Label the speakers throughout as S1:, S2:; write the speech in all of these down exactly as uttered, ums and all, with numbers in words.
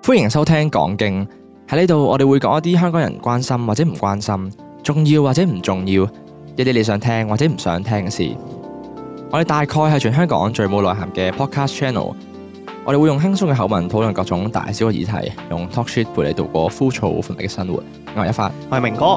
S1: 歡迎收聽講經，喺呢度我哋會講一啲香港人關心或者唔關心，重要或者唔重要，一啲你想聽或者唔想聽嘅事。我哋大概係全香港最冇內涵嘅 podcast channel。我哋會用輕鬆嘅口吻討論各種大小嘅議題，用 talk shit 陪你度過枯燥乏味嘅生活。我係一發，
S2: 我係明哥。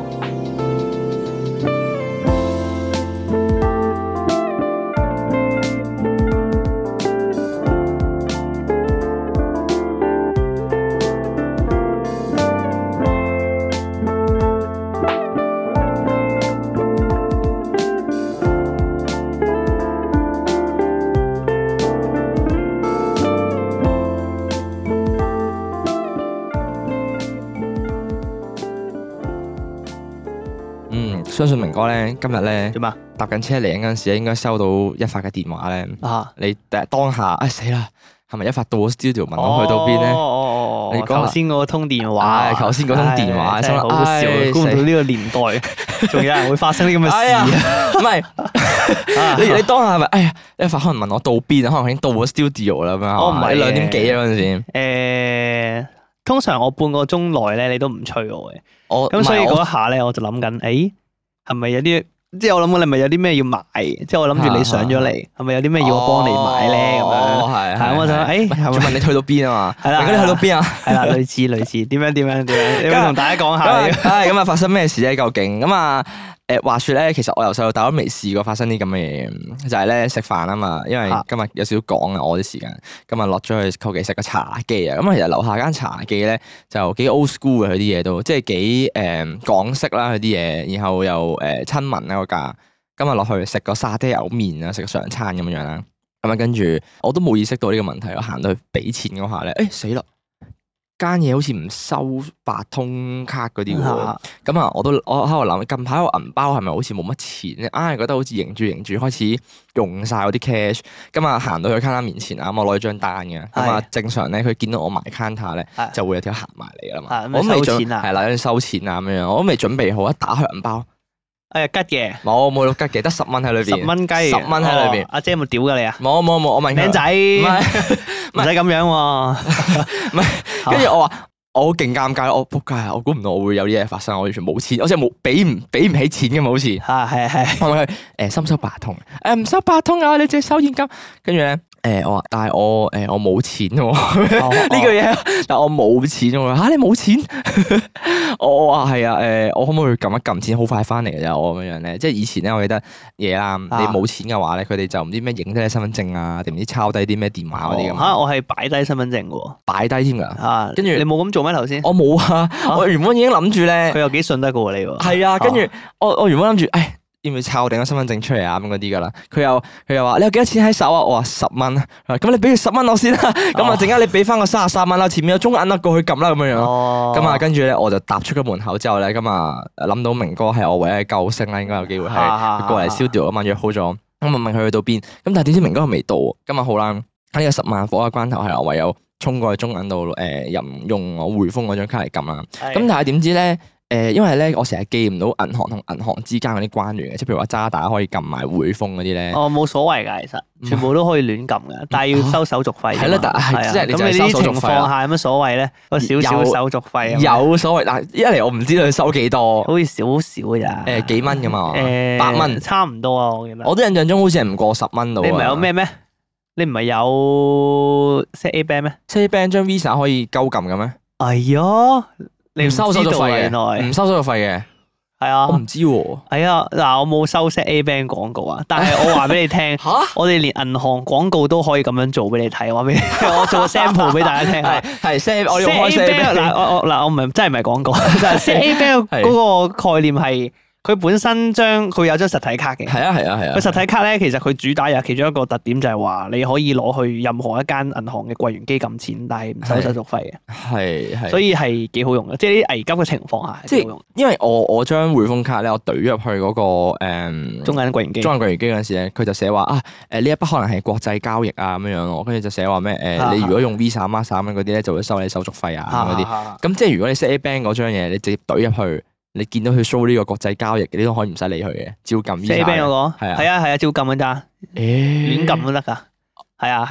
S1: 相信明哥咧今日咧
S2: 點啊？
S1: 搭緊車嚟嗰陣時咧，應該收到一發嘅電話咧。啊！你第當下，哎死啦，係咪一發到 studio 問我去到邊咧？
S2: 哦哦哦！你頭先嗰通電話，
S1: 唉，頭先嗰通電話
S2: 真係好笑，估唔到呢個年代仲有人會發生啲咁嘅事啊！
S1: 唔係，你你當下係咪？哎呀，一發可能問我到邊啊？可能已經到咗 studio 啦咁樣。我唔係兩點幾啊嗰陣時。
S2: 誒，通常我半個鐘內咧，你都唔催我嘅。
S1: 我
S2: 咁所以嗰一下咧，我就諗緊，誒。係咪有啲即係我諗緊你咪有啲咩要買？即係我諗住你上咗嚟，係咪有啲咩要我幫你買咧？咁樣係係，我就誒，係問
S1: 你去到邊啊嘛？
S2: 係啦，
S1: 你去到邊啊？
S2: 係啦，類似類似，點樣點樣點樣？你同大家講下。
S1: 唉，咁啊發生咩事咧？究竟咁啊？誒，話說咧，其實我由細到大都未試過發生啲咁嘅嘢，就係咧食飯啊嘛。因為今日有少少趕啊，我啲時間，今日落咗去求其食個茶記啊。咁其實樓下間茶記咧就幾 old school 嘅，佢啲嘢都即係幾誒港式啦，佢啲嘢，然後又誒親民啦個價。今日落去食個沙爹牛麵啊，食個上餐咁樣樣啦。咁啊跟住我都冇意識到呢個問題，我行到去俾錢嗰下咧，誒死啦！間嘢好似唔收八通卡嗰啲喎，咁啊我都我喺度諗，近排個銀包係咪好似冇乜錢咧？硬係覺得好似迎住迎住開始用晒嗰啲 cash，咁啊行到去 counter 面前啊，咁我攞咗張單嘅，咁啊正常咧佢見到我埋 counter 咧就會有條行埋嚟噶啦嘛，我都未準係啦，跟住收錢啊咁樣，我都未準備好，一打開銀包，
S2: 哎呀吉嘅，
S1: 冇冇到吉嘅，得十蚊喺裏邊，
S2: 十蚊雞，
S1: 十蚊喺裏邊，阿
S2: 姐有冇屌噶你啊？
S1: 冇冇冇，我問
S2: 靚仔，唔使咁樣喎，
S1: 唔係，跟住我話。我好勁尷尬，我仆街啊！我估唔到我會有啲嘢發生，我完全冇錢，我真係冇俾唔俾唔起錢嘅嘛，好似
S2: 係係係，
S1: 我問佢誒收唔收八通？誒唔收八通啊！你淨係收現金。跟住咧誒我話，但係我誒我冇錢喎呢個嘢，但係我冇錢喎嚇你冇錢？我話係啊誒，我可唔可以撳一撳錢，好快翻嚟嘅咋？我咁樣咧，即係以前咧，我記得嘢啦，你冇錢嘅話咧，佢哋就唔知咩影低你身份證啊，定唔知抄低啲咩電話嗰啲咁。
S2: 嚇我係擺低身份證嘅喎，
S1: 擺低添㗎嚇，跟住
S2: 你冇咁做。頭先？
S1: 我冇啊！我原本已經諗住咧，
S2: 佢又幾信得過你喎。
S1: 係啊，跟住我我原本諗住，誒要唔要抄定個身份證出嚟啊咁嗰啲噶啦。佢又佢又話你有幾多錢喺手啊？我話十蚊啊。咁你俾佢十蚊我先啦。咁啊，陣間你俾翻個三十三蚊啦，前面有中銀啦，過去撳啦咁樣樣。咁啊，跟住咧我就踏出咗門口之後咧，咁啊諗到明哥係我唯一嘅救星啦，應該有機會係過嚟燒掉啊嘛，約好咗。咁啊問佢去到邊？咁但係點知明哥又未到。咁啊好啦，喺呢個十萬火嘅關頭係我唯有衝過去中銀度誒，任用我匯豐嗰張卡嚟撳啦。咁但係點知咧？誒，因為咧我成日記唔到銀行同銀行之間嗰啲關聯嘅，即係譬如話渣打可以撳埋匯豐嗰啲咧。哦，
S2: 冇所謂㗎，其實全部都可以亂撳嘅，但係要收手續費。係咯，但係即係咁你呢啲情況下有乜所謂咧？個少少手續費
S1: 有所謂，但係一嚟我唔知道佢收幾多，
S2: 好似少少㗎咋？
S1: 誒幾蚊㗎嘛？誒八蚊，
S2: 差唔多啊！我記得。
S1: 我都印象中好似係唔過十蚊度。
S2: 你唔係有咩咩？你唔係有 set A bank 咩
S1: ？set A bank 張 Visa 可以鳩撳嘅咩？
S2: 哎呀，你
S1: 唔收手續費
S2: 嘅，
S1: 唔收手續費嘅，
S2: 係啊，
S1: 我唔知喎。
S2: 係啊，嗱，我冇收 set A bank 廣告啊，但係我話俾你聽，吓，我哋連銀行廣告都可以咁樣做俾你睇，話俾你，我做個 sample 俾大家聽，係
S1: 係 set 我用開 set A bank
S2: 嗱，我我嗱我唔係真係唔係廣告，但係 set A bank 嗰個概念係。佢本身將佢有張實體卡嘅，係
S1: 啊係啊係啊。
S2: 佢實體卡咧，其實佢主打有其中一個特點就係話，你可以攞去任何一間銀行嘅櫃員機撳錢，但係唔收手續費嘅。
S1: 係係。
S2: 所以係幾好用嘅，即係啲危急嘅情況下係幾好用。
S1: 因為我我將匯豐卡咧，我懟入去嗰個誒
S2: 中銀櫃員機，
S1: 中銀櫃員機嗰陣時咧，佢就寫話啊誒呢一筆可能係國際交易啊咁樣樣咯，跟住就寫話咩誒你如果用 Visa、Master 咁樣嗰啲咧，就會收你手續費啊嗰啲。咁即係如果你 set A bank 嗰張嘢，你直接懟入去。你見到佢 show 呢個國際交易，你都可以唔使理佢嘅，照撳 Visa。
S2: set A bank 嗰個
S1: 係啊
S2: 係啊係啊，照撳㗎咋，亂撳都得㗎。係啊係啊，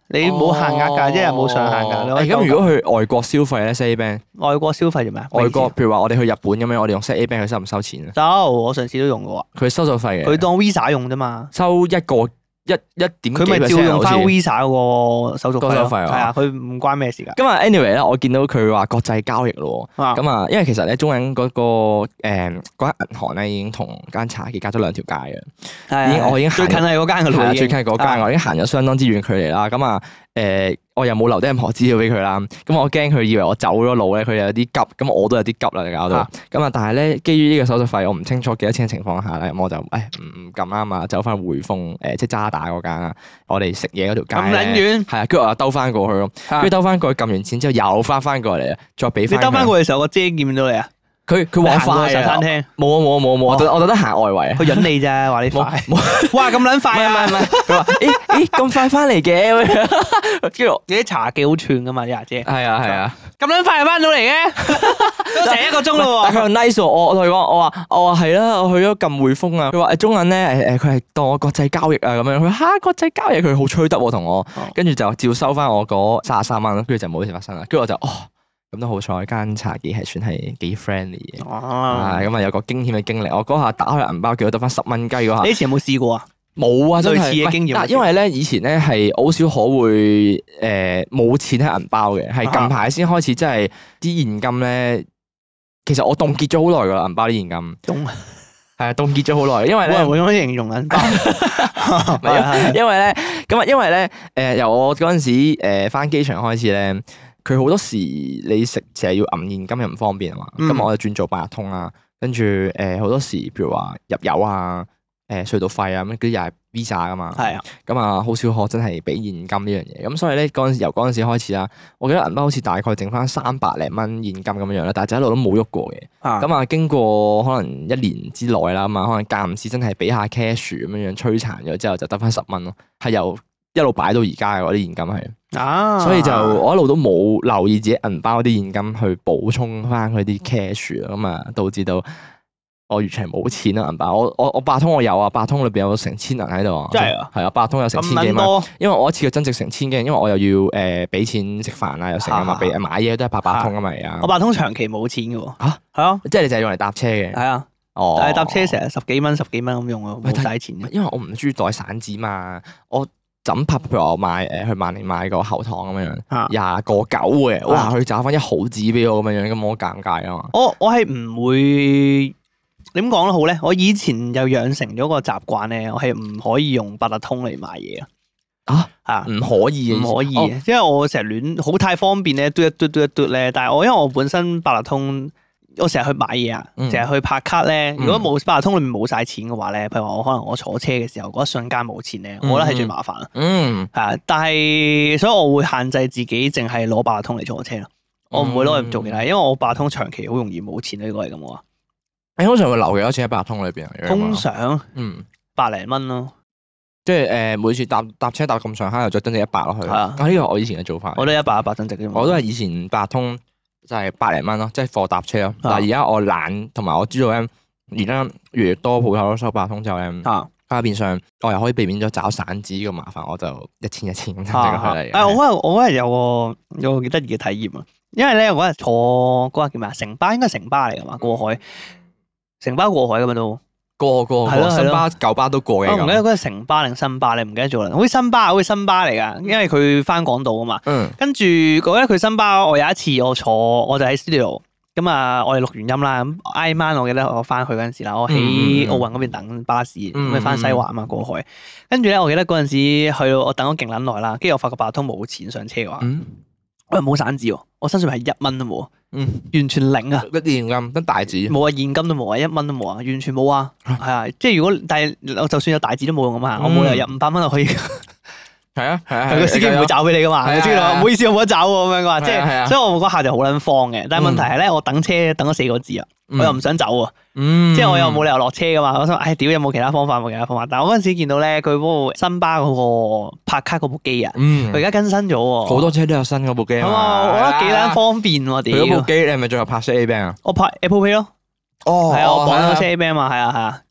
S2: 你冇限額㗎，一日冇上限㗎。
S1: 誒咁如果去外國消費咧 ，set A bank，
S2: 外國消費做咩啊？
S1: 外國譬如話我哋去日本咁樣，我哋用 set A bank 佢收唔收錢啊？
S2: 收，我上次都用過。
S1: 佢收手費嘅。
S2: 佢當 Visa 用啫嘛。
S1: 收一個一一點
S2: 佢咪照用翻 Visa 嗰個手續費咯。係啊，佢唔關咩事㗎。
S1: 咁啊，anyway 咧，我見到佢話國際交易咯。咁啊，因為其實咧中銀嗰個誒嗰間銀行咧已經同間茶記隔咗兩條街嘅。已經我已經
S2: 最近係嗰間㗎啦。
S1: 最近係嗰間，我已經行咗相當之遠距離啦。咁啊誒。我又冇留低任何資料俾佢啦，咁我驚佢以為我走咗路咧，佢有啲急，咁我都有啲急啦，搞到，咁啊，但係咧，基於呢個手續費，我唔清楚幾多錢嘅情況下咧，咁我就誒唔唔咁啱啊，走翻匯豐誒，即係渣打嗰間啊，我哋食嘢嗰條街咁
S2: 撚遠，
S1: 係啊，跟住我又兜翻過去咯，跟住兜翻過去撳完錢之後又翻翻過嚟啊，再俾翻。
S2: 你兜翻過去嘅時候，個姐見唔到你啊？
S1: 佢佢話快啊！
S2: 餐廳冇
S1: 啊冇啊冇啊冇啊！我我特登行外圍啊！
S2: 佢引你咋，話你快。哇咁撚快啊！
S1: 唔係唔係，佢話誒誒咁快翻嚟嘅咁樣，跟住
S2: 啲茶記好串噶嘛啲阿姐。
S1: 係啊係啊，
S2: 咁撚快就翻到嚟嘅，都成一個鐘咯喎。
S1: 但佢又 nice 喎，我我同佢講，我話我話係啦，我去咗撳匯豐啊。佢話誒中銀咧誒誒，佢係當我國際交易啊咁樣。佢話嚇國際交易，佢好吹得喎同我，跟住就照收翻我嗰三十三蚊，跟住就冇事發生啦。跟住我就哦。咁都好彩，間茶記係算係幾 friendly 嘅。哦，咁啊有個驚險嘅經歷。我嗰下打開銀包，叫佢得翻十蚊雞嗰下。
S2: 你以前有冇試過啊？
S1: 冇啊，類
S2: 似嘅經驗。
S1: 但因為咧，以前咧係好少可會誒冇錢喺銀包嘅，係近排先開始，即係啲現金咧。其實我凍結咗好耐噶，銀包啲現金。凍係啊，凍結咗好耐，因為咧。
S2: 我會咁樣形容銀包。
S1: 因為咧，咁啊，因為咧，誒由我嗰陣時誒返機場開始咧。佢好多時你食成日要揞現金又唔方便啊嘛，咁、嗯、我就轉做八達通啦。跟住誒好多時，譬如話入油啊、誒、呃、隧道費啊咁，嗰啲又係 Visa 噶嘛。係啊，咁啊好少可真係俾現金呢樣嘢。咁所以咧嗰陣時由嗰陣時開始啦，我記得銀包好似大概剩翻三百零蚊現金咁樣樣啦，但係就一路都冇喐過嘅。咁啊經過可能一年之內啦，咁啊可能間唔時真係俾下 cash 咁樣樣摧殘咗之後，就得翻十蚊咯，係由一路擺到而家嘅嗰啲現金係。啊，所以就我一路都冇留意自己銀包啲現金去補充翻佢啲 cash 啊，咁啊導致到我完全冇錢啦銀包。我我我八通我有啊，八通裏邊有成千銀喺度啊，真係啊，係啊，八通有成千幾蚊，因為我一次嘅增值成千幾，因為我又要誒俾錢食飯啊，又成啊嘛，俾買嘢都係八八通啊嘛而家。
S2: 我八通長期冇錢嘅喎。嚇係啊，
S1: 即係你就係用嚟搭車嘅。係啊，哦，但係搭車成日十幾蚊十幾蚊咁用啊，冇使錢。因為我唔中意袋散紙嘛，我。枕拍譬如我買誒去萬寧買個喉糖咁樣樣，廿個九嘅，哇！佢找翻一毫紙俾我咁樣樣，咁我尷尬啊嘛。我我係唔會點講得好咧？我以前就養成咗個習慣咧，我係唔可以用八達通嚟買嘢啊。啊，唔可以，唔可以，因為我成日亂好太方便咧，嘟一嘟嘟一嘟咧。但係我因為我本身八達通。我成日去買嘢啊，成日去拍卡咧。如果冇八達通裏面冇晒錢嘅話咧，譬如話我可能我坐車嘅時候嗰一瞬間冇錢咧，我覺得係最麻煩啊。嗯，係啊，但係所以我會限制自己淨係攞八達通嚟坐車咯。我唔會攞嚟做其他，因為我八達通長期好容易冇錢呢個係咁啊。你通常會留幾多錢喺八達通裏邊啊？通常嗯百零蚊咯，即係誒每次搭搭車搭咁上下又再增值一百落去。係啊，呢個我以前嘅做法。我都一百一百增值啫嘛。我都係以前八達通。就係百零蚊咯，即係貨搭車咯。但係而家我懶，同埋我知道咧，而家越嚟越多鋪頭都收八達通之後咧，啊，變相我又可以避免咗找散紙呢個麻煩，我就一千一千咁即刻去嚟。誒，我嗰日我嗰日有個有個幾得意嘅體驗啊，因為咧我嗰日坐嗰日叫咩啊？城巴應該係城巴嚟噶嘛，過海，城巴過海噶嘛都。過過過，新巴舊巴都過嘅。我唔記得嗰個城巴定新巴，你唔記得咗啦。好似新巴，好似新巴嚟噶，因為佢翻港島啊嘛。嗯。跟住嗰咧，佢新巴，我有一次我坐，我就喺 studio，咁啊，我哋錄完音啦。咁挨晚我記得我翻去嗰陣時啦，我喺奧運嗰邊等巴士，咁咪翻西環啊嘛，過海。跟住咧，我記得嗰陣時去到我等咗勁撚耐啦，跟住我發覺八達通冇錢上車嘅話，我又冇散紙喎，我身上係一蚊都冇。嗯，完全零啊！得現金，得大紙，冇啊，現金都冇啊，一蚊都冇啊，完全冇啊，係啊，即係如果但係我就算有大紙都冇用啊嘛，我冇理由入五百蚊就可以。係啊係啊，個司機唔會找俾你噶嘛，個司機話唔好意思，我冇得找喎咁樣嘅話，即係，所以我嗰下就好撚慌嘅。但係問題係咧，我等車等咗四個字啊，我又唔想走啊，即係我又冇理由落車噶嘛，我想，唉，屌有冇其他方法？冇其他方法。但係我嗰陣時見到咧，佢嗰部新巴嗰個拍卡嗰部機啊，佢而家更新咗喎，好多車都有新嗰部機啊嘛，我覺得幾撚方便喎，屌！佢嗰部機你係咪最後拍 A bank 啊？我拍 Apple Pay 咯，哦，係啊，我綁咗車 A bank 嘛，係啊係啊。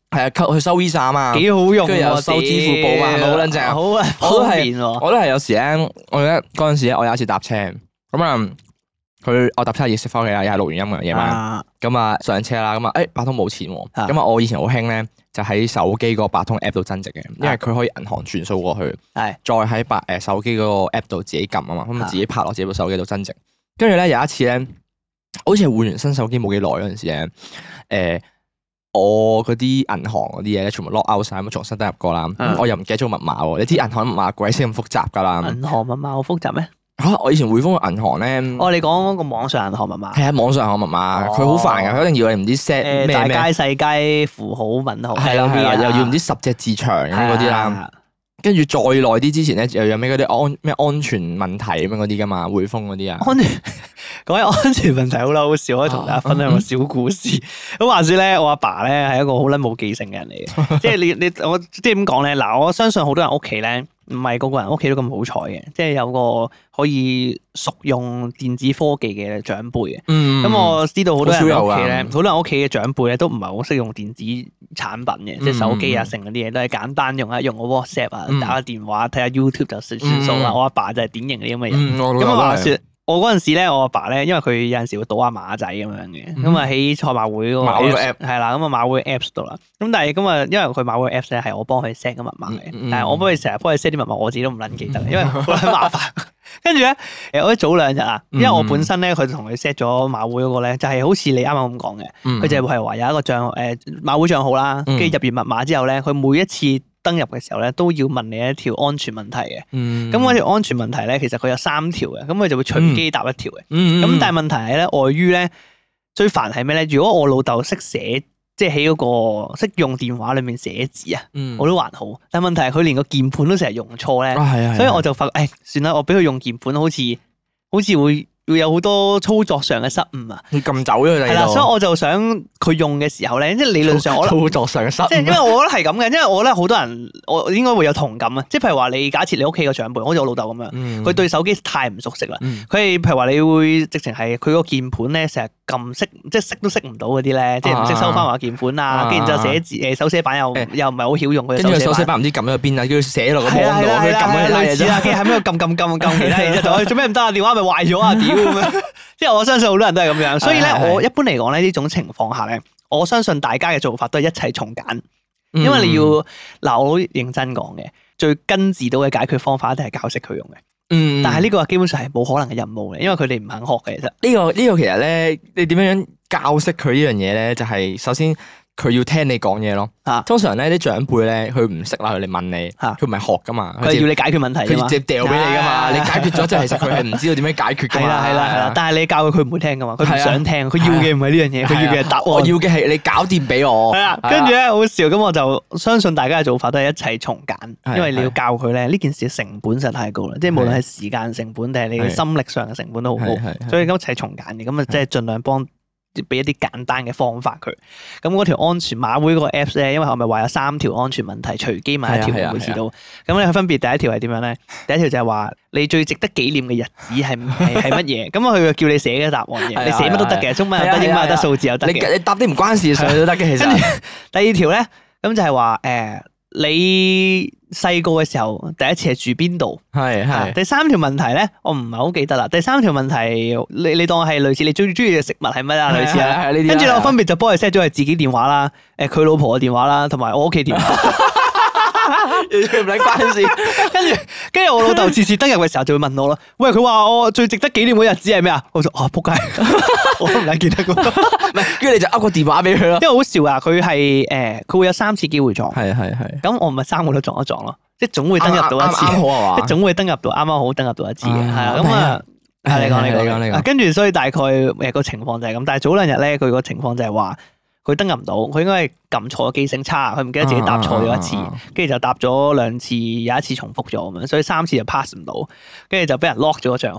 S1: 係啊，扣去收 Visa 啊嘛，
S2: 幾好用喎，
S1: 跟住又收支付寶嘛，係咪好撚正啊？
S2: 好
S1: 我都
S2: 方
S1: 係
S2: 便喎。
S1: 我都係有時咧，我記得嗰陣時咧，我有一次搭車，咁啊，佢我搭車要食翻屋企啦，又係錄完音嘅夜晚，咁啊上車啦，咁啊誒八通冇錢喎，咁啊我以前好興咧，就喺手機嗰個八通 app 度增值嘅，因為佢可以銀行轉數過去，
S2: 係
S1: 再喺八誒手機嗰個 app 度自己撳啊嘛，咁啊自己拍落自己部手機度增值。跟住咧有一次咧，好似係換完新手機冇幾耐嗰陣時咧，誒。我嗰啲銀行嗰啲嘢咧，全部 lock out 晒，咁重新登入過啦。嗯、我又唔記得咗個密碼喎。你知銀行密碼鬼死咁複雜噶啦。
S2: 銀行密碼好複雜咩？
S1: 嚇、啊！我以前匯豐嘅銀行咧，
S2: 哦，你講嗰個網上銀行密碼。係
S1: 啊，網上銀行密碼，佢好、哦、煩㗎，佢一定要你唔知 set 咩咩。大
S2: 街細街符號問號。係
S1: 啦係啦，又要唔知十隻字長咁嗰啲啦。跟住再耐啲之前咧，又有咩嗰啲安咩安全問題咁樣嗰啲噶嘛，匯豐嗰啲啊。安全
S2: 講起安全問題好啦，好笑，可以同大家分享個小故事。咁話說咧，我阿爸咧係一個好撚冇記性嘅人嚟嘅，即係你你我即係點講咧？嗱，我相信好多人屋企咧，唔係個個人屋企都咁好彩嘅，即係有個可以熟用電子科技嘅長輩嘅。咁、嗯、我知道好多人屋企咧，好多人屋企嘅長輩咧都唔係好識用電子產品嘅，嗯、即係手機啊，成嗰啲嘢都係簡單用啊，用個 WhatsApp 啊，打個電話睇下 YouTube 就算算數啦。嗯、我阿爸就係典型嗰啲咁嘅人。咁啊話說。我嗰陣時咧，我阿爸咧，因為佢有陣時會賭下馬仔咁樣嘅，咁啊喺賽馬會嗰個 app 係啦，咁啊馬會 apps 度啦。咁但係咁啊，因為佢馬會 apps 咧係我幫佢 set 個密碼嘅，嗯、但係我幫佢成日幫佢 set 啲密碼，我自己都唔撚記得，因為好撚麻煩。跟住咧，誒我早兩日啊，因為我本身咧佢同佢 set 咗馬會嗰個咧，就係好似你啱啱咁講嘅，佢、嗯、就係話有一個帳誒、呃、馬會帳號啦，跟住入完密碼之後咧，佢每一次登入嘅時候咧，都要問你一條安全問題嘅。咁嗰、嗯、條安全問題咧，其實佢有三條嘅，咁佢就會隨機答一條嘅。咁、嗯嗯、但係問題係咧，礙於咧最煩係咩咧？如果我老豆識寫，即係喺嗰個識用電話裏面寫字啊，嗯、我都還好。但係問題係佢連個鍵盤都成日用錯咧，啊、所以我就發覺，誒、哎，算啦，我俾佢用鍵盤，好似好似會。會有好多操作上嘅失誤啊！你撳走咗佢哋係啦，所以我就想佢用嘅時候咧，即係理論上我操作上嘅失誤，即係因為我覺得係咁嘅，因為我覺得好多人我應該會有同感啊！即係譬如話你假設你屋企個長輩，好似我老豆咁樣，佢、嗯、對手機太唔熟悉啦，佢係、嗯、譬如話你會直情係佢個鍵盤咧成日撳識，即係識都識唔到嗰啲咧，即係唔識收翻話鍵盤啊，跟住就寫字誒手寫板又、欸、又唔係好曉用佢，跟住手寫板唔知撳咗去邊啊，叫佢寫落個網度，佢撳咗類似啊，跟住喺邊度撳撳撳撳其他，然之後就做咩唔得啊？電話咪壞咗啊！屌咁樣。即係我相信好多人都係咁樣，所以咧我一般嚟講咧呢種情況下咧，我相信大家嘅做法都係一切從簡，因為你要嗱、嗯、我好認真講嘅，最根治到嘅解決方法一定係教識佢用嘅。嗯，但係呢個基本上係冇可能嘅任務嘅，因為佢哋唔肯學嘅。其實呢、呢個呢、呢個其實咧，你點樣樣教識佢呢樣嘢咧？就係、是、首先。佢要聽你講嘢咯，通常咧啲長輩咧，佢唔識啦，佢嚟問你，佢唔係學噶嘛，佢要你解決問題，佢直接掉俾你噶嘛，你解決咗之後，其實佢係唔知道點樣解決噶嘛。係啦係啦係啦，但係你教佢，佢唔會聽噶嘛，佢唔想聽，佢要嘅唔係呢樣嘢，佢要嘅係答案。我要嘅係你搞掂俾我。係啊，跟住咧好笑，咁我就相信大家嘅做法都係一切從簡，因為你要教佢咧，呢件事成本實在太高啦，即係無論係時間成本定係你嘅心力上嘅成本都好高，所以一切從簡嘅，咁啊即係盡量幫。俾一啲簡單嘅方法佢，咁嗰條安全馬會嗰個 apps 咧，因為我咪話有三條安全問題，隨機問一條會試到。咁你分別第一條係點樣咧？第一條就係話你最值得紀念嘅日子係係係乜嘢？咁啊佢就叫你寫嘅答案嘅，你寫乜都得嘅，中文又得，英文又得，數字又得嘅。你你答啲唔關事上都得嘅，其實。跟住第二條咧，咁就係話誒。你細個嘅時候第一次係住邊度？係係。第三條問題咧，我唔係好記得啦。第三條問題，你你當係類似你最中意嘅食物係乜啊？類似啊。跟住咧，我分別就幫佢 set 咗係自己電話啦，誒佢老婆嘅電話啦，同埋我屋企電話。完全唔使關事。跟住跟住我老豆次次登入嘅時候就會問我咯。喂，佢話我最值得紀念嘅日子係咩啊？我就啊仆街，我都唔撚記得㗎。唔係，跟住你就噏個電話俾佢咯。因為好笑啊，佢係誒佢會有三次機會撞。係係係。咁我咪三個都撞一撞咯，即係總會登入到一次。啱啱好係嘛？即係總會登入到，啱啱好登入到一次嘅。係啊，咁啊，係你講你講你講你講。跟住所以大概誒個情況就係咁，但係早兩日咧佢個情況就係話。佢登入唔到，佢應該係撳錯，記性差，佢唔記得自己答錯咗一次，跟住就答咗兩次，有一次重複咗咁樣，所以三次就 pass 唔到，跟住就俾人 lock 咗個賬號，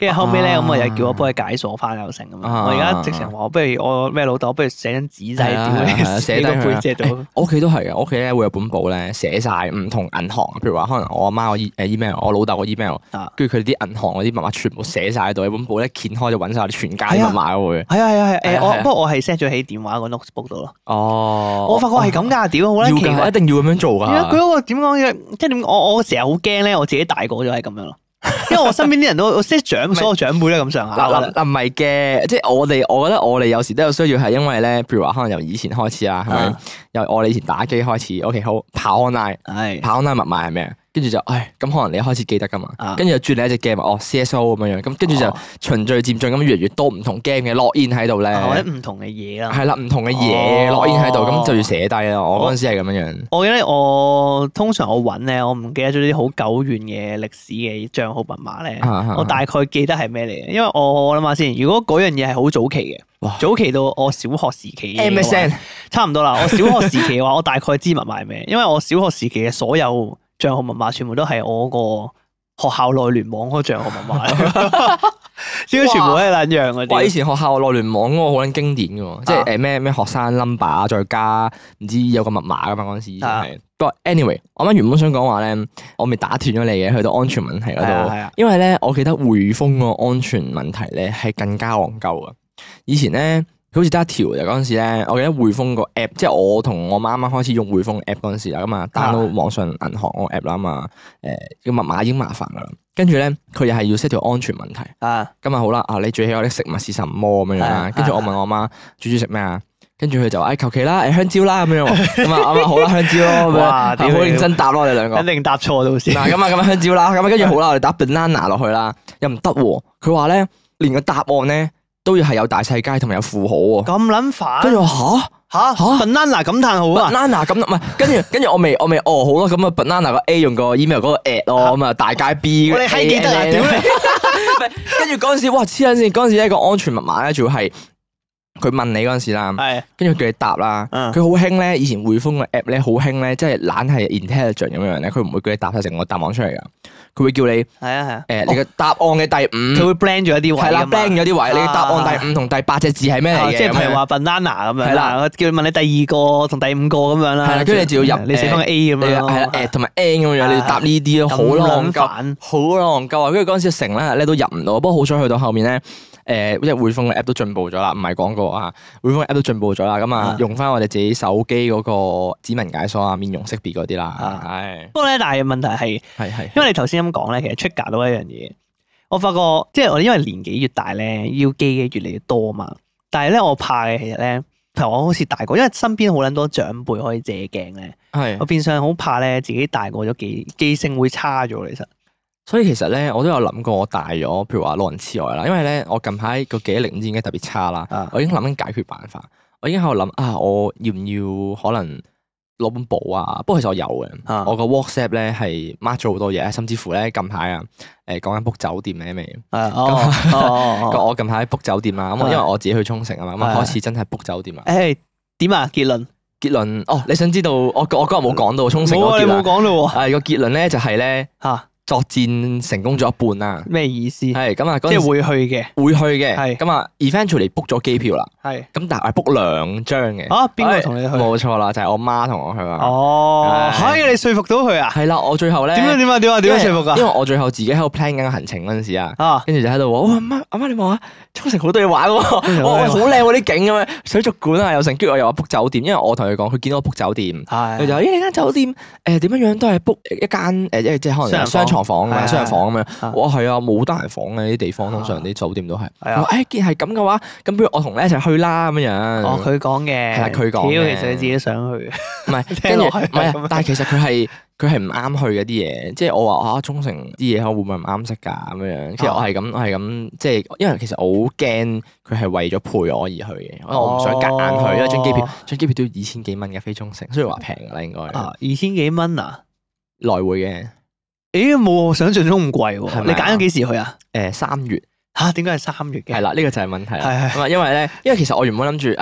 S2: 跟住後尾咧，咁我又叫我幫佢解鎖翻又成咁樣。我而家直情話，不如我咩老豆，不如寫張紙仔屌你，寫個背脊度。
S1: 我屋企都係嘅，我屋企咧會有本簿咧，寫晒唔同銀行，譬如話可能我阿媽個 e 誒 email，我老豆個 email，跟住佢哋啲銀行嗰啲密碼全部寫晒喺度，一本簿咧掀開就揾晒我哋全家啲密碼嘅會。
S2: 係啊係啊係誒，我不過我係 set 咗喺電話個 notebook 度咯。
S1: 哦，
S2: 我發覺係咁㗎，屌好撚奇怪，
S1: 一定要咁樣做㗎。
S2: 佢嗰個點講嘅，即係點？我我成日好驚咧，我自己大個咗係咁樣咯。因為我身邊啲人都我識長，所有長輩咧咁上下。
S1: 嗱嗱唔係嘅，即係我哋，我覺得我哋有時都有需要係因為咧，譬如話可能由以前開始啦，係咪？由我哋以前打機開始 ，OK 好跑 online，係跑 online 密碼係咩？跟住就，唉，咁可能你一開始記得噶嘛，跟住就轉另一隻 game，哦 C S O 咁樣樣，咁跟住就循序漸進咁越嚟越多唔同 game 嘅 login 喺度咧，
S2: 或者唔同嘅嘢啦，
S1: 係啦，唔同嘅嘢 login 喺度，咁就要寫低啦。我嗰陣時係咁樣樣。
S2: 我記得我通常我揾咧，我唔記得咗啲好久遠嘅歷史嘅帳號密碼咧，我大概記得係咩嚟嘅，因為我我諗下先，如果嗰樣嘢係好早期嘅，早期到我小學時期
S1: M S N
S2: 差唔多啦。我小學時期嘅話，我大概知密碼係咩，因為我小學時期嘅所有帳號密碼全部都係我個學校內聯網嗰個帳號密碼，應該全部都係兩樣嗰啲。
S1: 哇！以前學校內聯網嗰個好撚經典嘅喎，即係誒咩咩學生 number 再加唔知有個密碼噶嘛嗰陣時以前係。不過 anyway，我啱原本想講話咧，我未打斷咗你嘅，去到安全問題嗰度，因為咧我記得匯豐個安全問題咧係更加戇鳩啊！以前咧。佢好似得一條就嗰陣時咧，我記得匯豐個 app，即係我同我媽啱啱開始用匯豐 app 嗰陣時啦，咁啊 download 網上銀行個 app 啦嘛，誒個密碼已經麻煩噶啦，跟住咧佢又係要 set 條安全問題，啊，咁啊好啦，啊你最喜愛的食物是什麼咁樣樣啦，跟住我問我媽煮煮食咩啊，跟住佢就話誒求其啦，誒香蕉啦咁樣，咁啊啱啱好啦香蕉咯，哇，好認真答咯我哋兩個，
S2: 肯定答錯到先，
S1: 嗱咁啊咁啊香蕉啦，咁啊跟住好啦，我哋打 banana 落去啦，又唔得喎，佢話咧連個答案咧。都要係有大細階同埋有符號喎，
S2: 咁撚煩。跟
S1: 住我吓吓吓
S2: banana 感嘆號啊
S1: ，banana 咁唔係，跟住跟住我未我未哦好咯，咁啊 banana 個 A 用個 email 嗰個 at 咯，咁啊大階 B，
S2: 我哋係記得啊，屌你！
S1: 跟住嗰陣時，哇黐撚線，嗰陣時一個安全密碼咧，仲要係佢問你嗰陣時啦，跟住叫你答啦，佢好興咧，以前匯豐個 app 咧好興咧，即係懶係 intelligent 咁樣咧，佢唔會叫你答晒成個答案出嚟噶。佢會叫你係
S2: 啊係啊，
S1: 誒你嘅答案嘅第五，
S2: 佢會 blend 咗一啲位，
S1: 係啦 blend 咗啲位，你嘅答案第五同第八隻字係咩嚟嘅？
S2: 即係譬如話 banana 咁樣，係啦，我叫你問你第二個同第五個咁樣啦，
S1: 係啦，跟住你就要入
S2: 你寫翻個 A 咁樣，
S1: 係啦誒同埋 N 咁樣，你要答呢啲咯，好戇鳩，好戇鳩啊！跟住嗰陣時成咧咧都入唔到，不過好彩去到後面咧。誒，即係匯豐嘅 app 都進步咗啦，唔係廣告啊！匯豐嘅 app 都進步咗啦，咁啊用翻我哋自己手機嗰個指紋解鎖啊、面容識別嗰啲啦，係。不過咧，但係問題係，係係，因為你頭先咁講咧，其實 trigger 到一樣嘢，我發覺即係我哋因為年紀越大咧，要記嘅越嚟越多嘛。但係咧，我怕嘅其實咧，譬如我好似大個，因為身邊好撚多長輩可以借鏡咧，係。我變相好怕咧，自己大個咗記記性會差咗，其實。 所以其實咧，我都有諗過，我大咗，譬如話老人痴呆啦。因為咧，我近排個記憶力唔知點解特別差啦。啊、我已經諗緊解決辦法。我已經喺度諗啊，我要唔要可能攞本簿啊？不過其實我有嘅。啊、我個 WhatsApp 咧係 mark 咗好多嘢，甚至乎咧近排啊，誒講緊 book 酒店咧未？咁我近排 book 酒店啦。咁因為我自己去沖繩啊嘛，咁啊開始真係 book 酒店啊。
S2: 誒點啊？結論
S1: 結論哦，你想知道我我嗰日冇講到沖繩嗰結論？
S2: 冇講到喎。
S1: 係個結論咧就係咧嚇。作戰成功咗一半啦，
S2: 咩意思？
S1: 係咁啊，
S2: 即係會去嘅，
S1: 會去嘅，
S2: 係
S1: 咁啊，eventually book 咗機票啦，係，咁但係 book 兩張嘅，
S2: 啊，邊個同你去？
S1: 冇錯啦，就係我媽同我去啊。
S2: 哦，係你說服到佢啊？係
S1: 啦，我最後咧，
S2: 點樣點啊點啊點樣說服噶？
S1: 因為我最後自己喺度 plan 緊個行程嗰陣時啊，跟住就喺度話，哇阿媽阿媽你望下，沖繩好多嘢玩喎，哇好靚喎啲景咁樣，水族館啊又成，跟住我又話 book 酒店，因為我同佢講，佢見到我 book 酒店，佢就話咦你間酒店誒點樣樣都係 book 一間誒即係可能雙床房啊，雙人房咁樣，哇係啊冇單人房嘅啲地方，通常啲酒店都係，誒既然係咁嘅話，咁不如我同你一齊去啦咁樣。
S2: 哦佢講嘅，
S1: 係啦佢講嘅，
S2: 其實你自己想去，
S1: 唔係跟住唔係，但係其實佢係。佢係唔啱去嘅啲嘢，即係我話啊，沖繩啲嘢可會唔會唔啱食㗎咁樣？其實我係咁，我係咁，即係因為其實我好驚佢係為咗陪我而去嘅，因為我唔想夾硬去，因為張機票張機票都要二千幾蚊嘅飛沖繩，雖然話平㗎啦應該。啊，
S2: 二千幾蚊啊？
S1: 來回嘅。
S2: 誒冇我想象中咁貴喎，你揀咗幾時去啊？
S1: 誒三月。
S2: 嚇？點解係三月嘅？
S1: 係啦，呢個就係問題啦。
S2: 係係。
S1: 因為咧，因為其實我原本諗住，唉。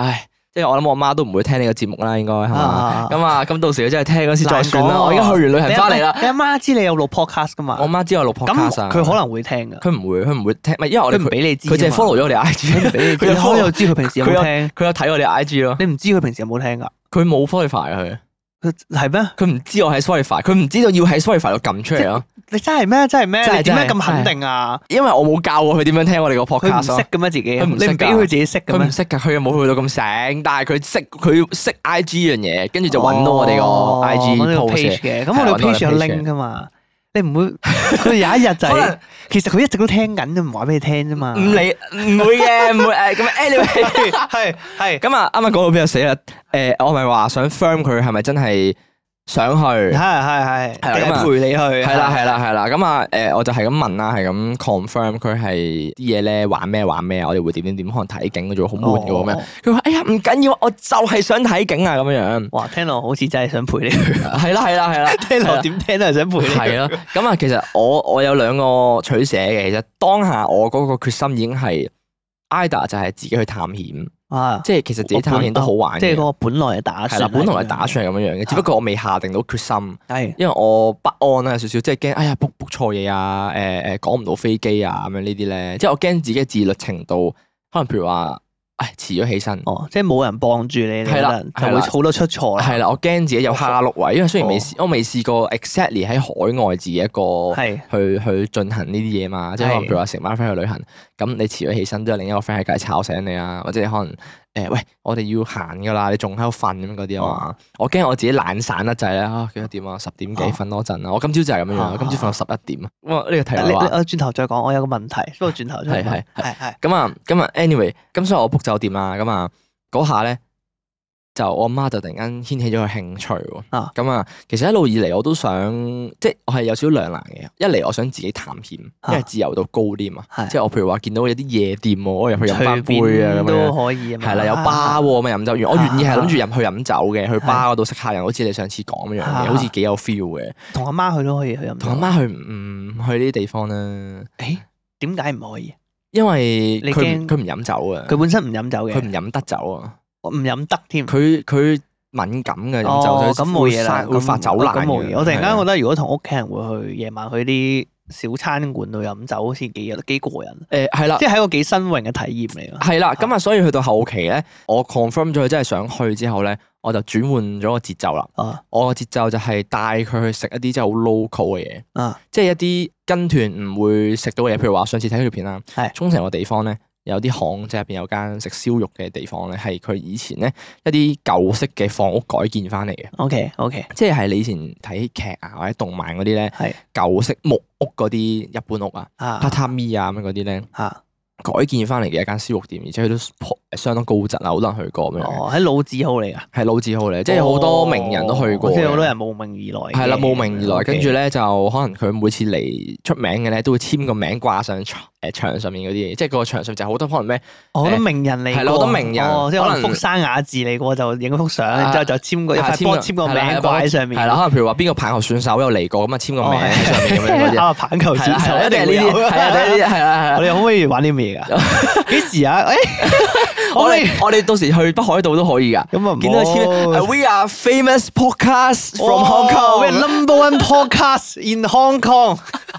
S1: 即係我諗我媽都唔會聽呢個節目啦，應該係嘛？
S2: 啊
S1: 咁啊，咁到時佢真係聽嗰時再算啦。
S2: 難講喎
S1: 我而家去完旅行翻嚟啦。
S2: 你阿媽知你有錄 podcast 噶嘛？
S1: 我媽知我錄 podcast
S2: 咁
S1: 啊，
S2: 佢可能會聽噶。
S1: 佢唔會，佢唔會聽，唔係因為我哋
S2: 佢唔俾你知啊嘛，
S1: 佢淨係 follow 咗我哋 I G，
S2: 佢唔俾你知。
S1: 佢有
S2: 你可能又知佢平時有
S1: 佢有
S2: 冇聽？
S1: 佢有睇我哋 I G 咯。
S2: 你唔知佢平時有冇聽㗎？
S1: 佢冇 Spotify 啊佢。
S2: 佢係咩？
S1: 佢唔知我喺 Spotify，佢唔知道要喺 Spotify 度撳出嚟咯。
S2: 你真係咩？真係咩？
S1: 真係
S2: 你點解
S1: 真係
S2: 咁肯定啊？
S1: 因為我冇教過佢點樣聽我哋個
S2: 佢唔
S1: podcast 咯。
S2: 識嘅咩自己？
S1: 佢唔識㗎
S2: 你唔俾佢自己識嘅咩
S1: 佢唔？識㗎，佢又冇去到咁醒，但係佢識佢識 I G 樣嘢，跟住就揾到我哋個 I G
S2: 哦揾到個
S1: post
S2: page 嘅。咁
S1: 係
S2: 我哋
S1: 揾到我
S2: page 有
S1: page
S2: link 㗎嘛？你唔會佢有一日就係
S1: 可能
S2: 其實佢一直都聽緊，就唔話俾你聽啫嘛。
S1: 唔理唔會嘅，唔會誒咁 anyway
S2: 係係
S1: 咁啊，啱啱講到邊度死啦？誒，我咪話想 firm 佢係咪真係想去？
S2: 係係係，
S1: 係啦咁啊
S2: 定係陪你去？
S1: 係啦係啦係啦，咁啊誒，我就係咁問啦，係咁 confirm 佢係啲嘢咧玩咩玩咩啊？我哋會點點點，可能睇景嘅啫喎，好悶嘅喎咁樣。
S2: 哦
S1: 佢話：哎呀唔緊要，我就係想睇景啊咁樣樣。
S2: 哇！聽落好似真係想陪你去。
S1: 係啦係啦係啦，
S2: 聽落點聽都係想陪你去。
S1: 係咯。咁啊，其實我我有兩個取捨嘅。其實當下我嗰個決心已經係 either 就係自己去探險，
S2: 啊！
S1: 即係其實自己探險都好玩嘅。
S2: 即係嗰個本來嘅打算。
S1: 係啦，本來係打算係咁樣樣嘅，只不過我未下定到決心，
S2: 係
S1: 因為我不安啦，有少少即係驚，哎呀 book book 錯嘢啊，誒誒趕唔到飛機啊咁樣呢啲咧，即係我驚自己嘅自律程度，可能譬如話，唉遲咗起身。
S2: 哦，即係冇人幫住你，
S1: 係啦
S2: 可能就
S1: 係啦
S2: 會好多出錯啦。
S1: 係啦，我驚自己有蝦碌位，因為雖然未
S2: 哦
S1: 試，我未試過 exactly 喺海外自己一個
S2: 係
S1: 去去進行呢啲嘢嘛，即係可能
S2: 係
S1: 譬如話成班 friend 去旅行，咁你遲咗起身都有另一個 friend 喺隔離吵醒你啊，或者你可能誒喂我哋要行㗎啦，你仲喺度瞓咁樣嗰啲啊嘛，我驚我自己懶散得滯咧啊幾多點啊十點幾
S2: 哦
S1: 瞓多陣啊，我今朝就係咁樣樣，
S2: 啊
S1: 今朝瞓到十一點啊，哇呢個題
S2: 你你
S1: 外話。
S2: 我轉頭再講，我有個問題，不過轉頭再
S1: 係係
S2: 問。係係
S1: 咁啊，咁啊，anyway，咁所以我 book 酒店啦，咁啊嗰下咧就我阿媽就突然間掀起咗個興趣喎。
S2: 啊
S1: 咁啊，其實一路以嚟我都想，即係我係有少少兩難嘅。一嚟我想自己探險，因為自由度高啲嘛。
S2: 係
S1: 即係我譬如話見到有啲夜店喎，我入去飲翻
S2: 隨
S1: 杯啊咁
S2: 便都
S1: 樣。
S2: 可以啊嘛。
S1: 係啦，有巴喎，咁啊飲酒完，我願意係諗住入去飲酒嘅，去
S2: 係
S1: 巴嗰度識客人，好似你上次講咁樣嘅，
S2: 啊
S1: 好似幾有 feel 嘅。
S2: 同阿媽去都可以去飲。
S1: 同阿媽去唔去呢啲地方咧？
S2: 誒點解唔可以？
S1: 因為
S2: 你驚
S1: 佢唔佢唔飲酒啊，
S2: 佢本身唔飲酒嘅，
S1: 佢唔飲得酒啊。
S2: 我唔飲得添。
S1: 佢佢敏感嘅飲
S2: 哦，
S1: 酒，
S2: 咁冇嘢啦，
S1: 會發酒難
S2: 咁冇嘢。我突然間覺
S1: 得
S2: 得，如果同屋企人會去夜晚去啲小餐館度飲酒，好似幾幾過癮，
S1: 誒係啦
S2: 即，係一個幾新穎嘅體驗嚟咯。
S1: 係啦，咁啊，所以去到後期咧，我 confirm 咗佢真係想去之後咧，我就轉換咗個節奏啦。
S2: 啊
S1: 我個節奏就係帶佢去食一啲真係好 local 嘅嘢，
S2: 啊
S1: 即係一啲跟團唔會食到嘅嘢。譬如話上次睇條片啦，
S2: 係
S1: 沖繩個地方咧。有啲巷即係入邊有間食燒肉嘅地方咧，係佢以前咧一啲舊式嘅房屋改建翻嚟嘅，
S2: ，OK OK，
S1: 即係係你以前睇劇啊或者動漫嗰啲咧
S2: 係
S1: 舊式木屋嗰啲日本屋啊。
S2: 啊
S1: 榻榻米啊咁樣嗰啲咧，
S2: 啊
S1: 改建翻嚟嘅一間燒肉店，而且佢都頗相當高質啊，好多人去過咁樣嘅，
S2: 哦，喺老字號嚟㗎，
S1: 係老字號嚟，即係好多名人都去過嘅，
S2: 即係好多人慕名而來嘅。
S1: 係啦，慕名而來，
S2: OK
S1: 跟住咧就可能佢每次嚟出名嘅咧，都會簽個名掛上牆誒牆上面嗰啲嘢，即係個牆上就好多可能咩
S2: 哦好多名人嚟過，
S1: 係啦好多名人
S2: 哦即係可能
S1: 可能
S2: 福山雅治嚟過就影幅相，
S1: 啊
S2: 然之後就簽個一塊波簽個名
S1: 係啦
S2: 掛喺上面。
S1: 係啦，可能譬如話邊個棒球選手有嚟過咁啊，簽個名喺上面咁樣嗰啲。
S2: 啊，棒球
S1: 係啦，係
S2: 選手
S1: 啦，一定係呢啲，
S2: 會有
S1: 係啊，呢啲係啦，係啦。
S2: 我哋可唔可以玩啲咩㗎？幾時啊？誒，
S1: 我
S2: 我哋
S1: 哋我哋到時去北海道都可以㗎。
S2: 咁啊，
S1: 見到佢簽
S2: 簽
S1: ，We are famous podcast from Hong Kong。
S2: We're number one podcast in Hong Kong.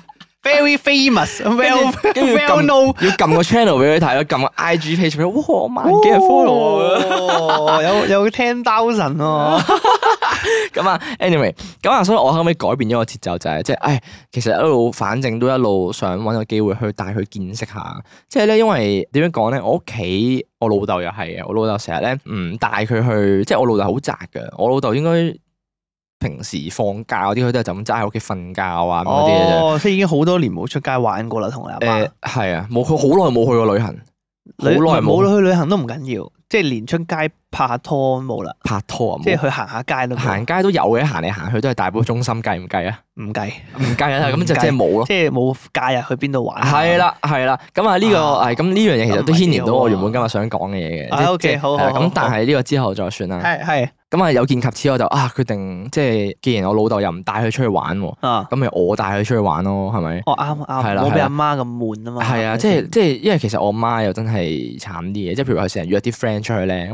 S2: Very famous, well
S1: 跟住
S2: well
S1: 撳
S2: known。
S1: 要撳個 channel 俾佢睇咯，撳個 I G page 俾佢，哇萬幾人 follow 啊！
S2: 哦，有有 ten thousand 喎。
S1: 咁啊，anyway，咁啊，所以我後尾改變咗個節奏，就係即係，唉，其實一路反正都一路想揾個機會去帶佢見識下，即係咧，因為點樣講咧，我屋企我老豆又係嘅，我老豆成日咧唔帶佢去，即係我老豆好宅嘅，我老豆應該平時放假嗰啲，佢都係就咁齋喺屋企瞓覺啊咁嗰啲嘅啫。
S2: 哦，即係已經好多年冇出街玩過啦，同你阿媽
S1: 誒。係啊，冇佢好耐冇去過旅行，好
S2: 旅
S1: 耐冇
S2: 冇去旅行都唔緊要，即係連出街拍下拖冇啦，
S1: 拍拖啊，冇
S2: 即係去行下街都冇
S1: 行街都有嘅，行嚟行去都係大埔中心，計唔計啊？
S2: 唔計，
S1: 唔計啊，咁就
S2: 唔計
S1: 即係冇咯。
S2: 即係冇假日去邊度玩。
S1: 係啦，係啦，咁啊呢個
S2: 啊
S1: 係咁呢樣嘢其實都牽連到我原本
S2: 咁
S1: 今日想講嘅嘢嘅。
S2: 啊
S1: 即係
S2: OK，
S1: 即係
S2: 好好好
S1: 係啦咁但係呢個之後再算啦。
S2: 係係
S1: 咁啊有見及此我就啊決定即係既然我老豆又唔帶佢出去玩喎，
S2: 啊，
S1: 咁咪我帶佢出去玩咯，係咪？
S2: 哦啱啱，
S1: 係啦
S2: 冇俾
S1: 係啦
S2: 阿媽咁悶啊嘛。
S1: 係啊，即係即係因為其實我媽又真係慘啲嘅，即係譬如話佢成日約啲 friend 出去咧，咁我老豆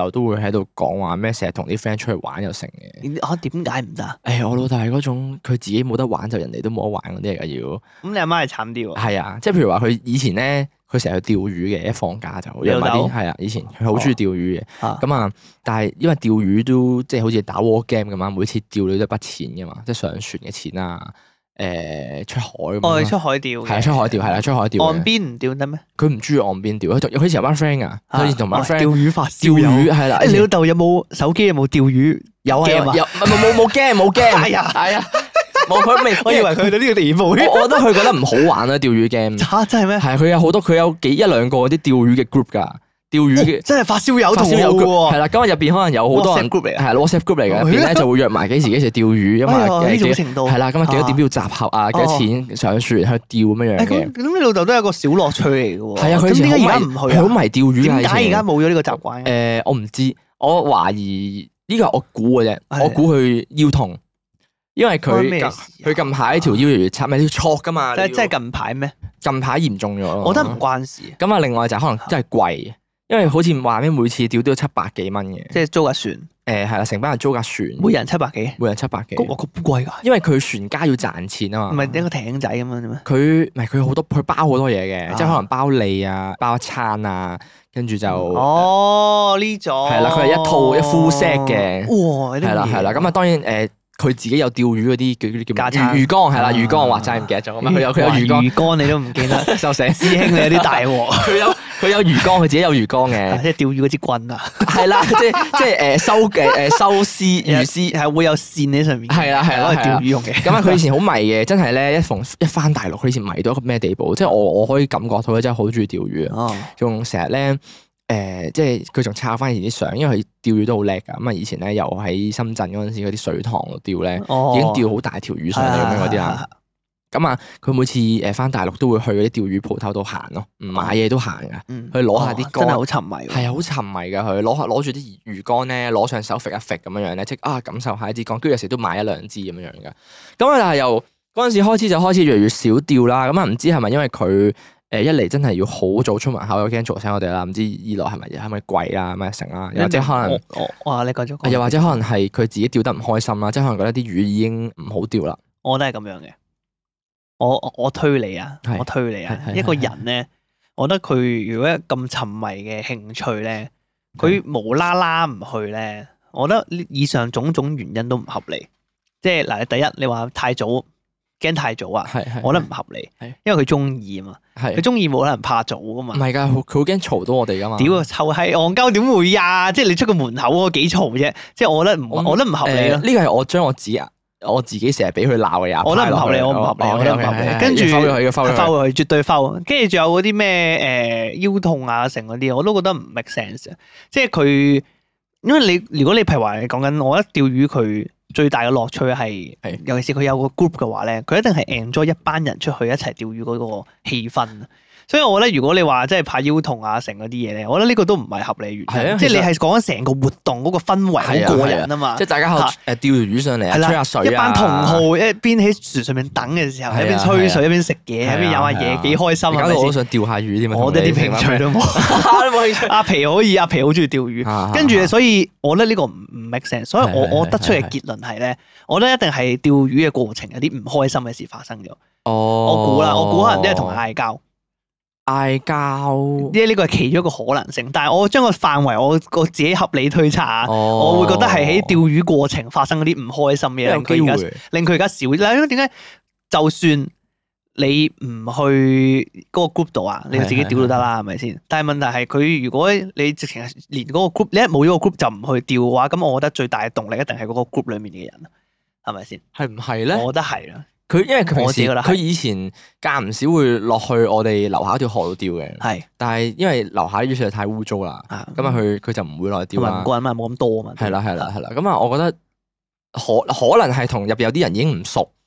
S1: 豆都會喺度講話咩，成日同啲 friend 出去玩又成嘅。
S2: 啊，點解唔得？
S1: 誒、哎，我老豆係嗰種佢自己冇得玩就人哋都冇得玩嗰啲嚟㗎要。
S2: 咁你阿媽係慘啲喎。
S1: 係啊，即係譬如話佢以前咧，佢成日去釣魚嘅，一放假就約埋啲係啊。以前佢好中意釣魚嘅，咁啊、哦，但係因為釣魚都即係好似打 war game 咁嘛，每次釣到一筆錢㗎嘛，即係上船嘅錢啊。誒出海咁
S2: 哦，出海釣
S1: 係啊，出海釣係啦，出海釣。
S2: 岸邊唔釣得咩？
S1: 佢唔中意岸邊釣，佢佢以前有班 friend 噶，佢以前同班 friend
S2: 釣魚發燒
S1: 釣魚係啦。
S2: 誒，你老豆有冇手機？有冇釣魚？
S1: 有啊，有冇冇冇 game 冇 game。係啊係啊，冇佢未。我以為佢去到呢個地步。我覺得佢覺得唔好玩啊，釣魚 game。
S2: 嚇真係咩？係
S1: 佢有好多，佢有幾一兩個啲釣魚嘅 group 㗎。釣魚嘅
S2: 真係發燒友同好喎，
S1: 係啦，咁啊入邊可能有好多人
S2: group 嚟，
S1: 係 WhatsApp group 嚟嘅，入邊咧就會約埋幾時幾時釣魚，因為
S2: 呢種程度
S1: 係啦，咁啊幾多點要集合啊，幾多錢上船去釣咁樣樣嘅。
S2: 咁你老豆都係個小樂趣嚟嘅喎。係啊，
S1: 佢
S2: 點解而家唔去啊？
S1: 好迷釣魚，
S2: 點解而家冇咗呢個習慣？
S1: 誒，我唔知，我懷疑呢個係我估嘅啫，我估佢腰痛，因為佢佢近排條腰越嚟越差，咪要挫㗎嘛。
S2: 即係即係近排咩？
S1: 近排嚴重咗咯。
S2: 我覺得唔關事。
S1: 咁啊，另外就可能真係貴。因為好似話咩每次釣都要七百幾蚊嘅，
S2: 即係租架船。
S1: 誒係啦，成班人租架船，
S2: 每人七百幾，
S1: 每人七百幾。
S2: 咁咁貴㗎？
S1: 因為佢船家要賺錢啊嘛。
S2: 唔係一個艇仔咁樣啫咩？
S1: 佢唔係佢好多，佢包好多嘢嘅，即係可能包你啊，包一餐啊，跟住就
S2: 哦呢種
S1: 係啦，佢係一套一 full set 嘅。
S2: 哇！
S1: 係啦係啦，咁啊當然誒。佢自己有釣魚嗰啲叫啲叫
S2: 魚
S1: 魚缸係啦，魚缸我話齋唔記得咗咁啊！佢有佢有魚缸，
S2: 魚缸你都唔記得，
S1: 就成
S2: 師兄你有啲大鑊。
S1: 佢有佢有魚缸，佢自己有魚缸嘅，
S2: 即係釣魚嗰支棍啊！
S1: 係啦，即係即係誒收嘅誒收絲魚絲係
S2: 會有線喺上面。
S1: 係啦係啦，
S2: 攞嚟釣魚用嘅。
S1: 咁啊，佢以前好迷嘅，真係咧一逢一翻大陸，佢以前迷到一個咩地步？即係我我可以感覺到佢真係好中意釣魚啊！仲成日咧。誒、呃，即係佢仲抄翻以前啲相，因為佢釣魚都好叻㗎。咁啊，以前咧又喺深圳嗰陣時嗰啲水塘度釣咧，哦、已經釣好大條魚上嚟咁樣嗰啲啦。咁啊，佢每次誒翻大陸都會去嗰啲釣魚鋪頭度行咯，唔買嘢都行㗎。
S2: 嗯、
S1: 去攞下啲竿，
S2: 真係好沉迷。
S1: 係啊，好沉迷㗎佢，攞下攞住啲魚竿咧，攞上手揈一揈咁樣樣咧，即啊感受下一支竿，跟住有時都買一兩支咁樣樣㗎。咁啊，但係由嗰陣時開始就開始越嚟越少釣啦。咁啊，唔知係咪因為佢？誒一嚟真係要好早出門口，又驚嘈醒我哋啦。唔知二來係咪係咪貴啦，咩成啦？又或者可能，
S2: 哇！你講咗，
S1: 又或者可能係佢自己釣得唔開心啦，即係可能覺得啲魚已經唔好釣啦。
S2: 我都係咁樣嘅。我我推你啊，我推你啊。一個人咧，我覺得佢如果咁沉迷嘅興趣咧，佢無啦啦唔去咧，我覺得以上種種原因都唔合理。即係嗱，第一你話太早。驚太早啊！係係，我覺得唔合理，係因為佢中意啊嘛，係佢中意冇可能怕早噶嘛。唔係㗎，佢好驚嘈到我哋㗎嘛。屌，臭閪戇鳩點會呀？即係你出個門口嗰幾嘈啫。即係我覺得唔，我覺得唔合理咯。呢個係我將我自己我自己成日俾佢鬧嘅嘢。我覺得唔合理，我唔合理，我覺得唔合理。跟住收咗佢嘅，收咗佢，收咗佢，絕對收。跟住仲有嗰啲咩誒腰痛啊成嗰啲，我都覺得唔 make sense。即係佢，因為你如果你譬如話你講緊，我覺得釣魚佢。最大嘅樂趣係，尤其是佢有個 group 嘅話咧，佢一定係 enjoy 一班人出去一齊釣魚嗰個氣氛。所以我覺得如果你話即係怕腰痛啊成嗰啲嘢咧，我覺得呢個都唔係合理原因。即係你係講緊成個活動嗰個氛圍好過癮啊嘛。即係大家誒釣條魚上嚟啊，吹下水啊，一班同好一邊喺船上面等嘅時候，一邊吹水一邊食嘢，一邊飲下嘢，幾開心啊！搞到我都想釣下魚添啊！我哋啲興趣都冇。阿皮可以，阿皮好中意釣魚，跟住所以我覺得呢個唔唔 make sense。所以我我得出嘅結論係咧，我覺得一定係釣魚嘅過程有啲唔開心嘅事發生咗。哦，我估啦，我估可能都係同人嗌交。嗌交，呢呢個係其中一個可能性，但係我將個範圍我我自己合理推測啊，哦、我會覺得係喺釣魚過程發生嗰啲唔開心嘅嘢，令佢而家令佢而家少。嗱，因為點解？就算你唔去嗰個 group 度啊，你自己釣都得啦，係咪先？但係問題係佢如果你直情係連嗰個 group，你一冇咗個 group 就唔去釣嘅話，咁我覺得最大嘅動力一定係嗰個 group 裡面嘅人，係咪先？係唔係咧？我覺得係啦。佢因為佢平時佢以前間唔少會落去我哋樓下條河度釣嘅，係。但係因為樓下啲魚實在太污糟啦，咁啊佢佢就唔會落去釣啦。唔慣啊嘛，冇咁多啊嘛。係啦係啦係啦，咁啊我覺得可可能係同入邊有啲人已經唔熟，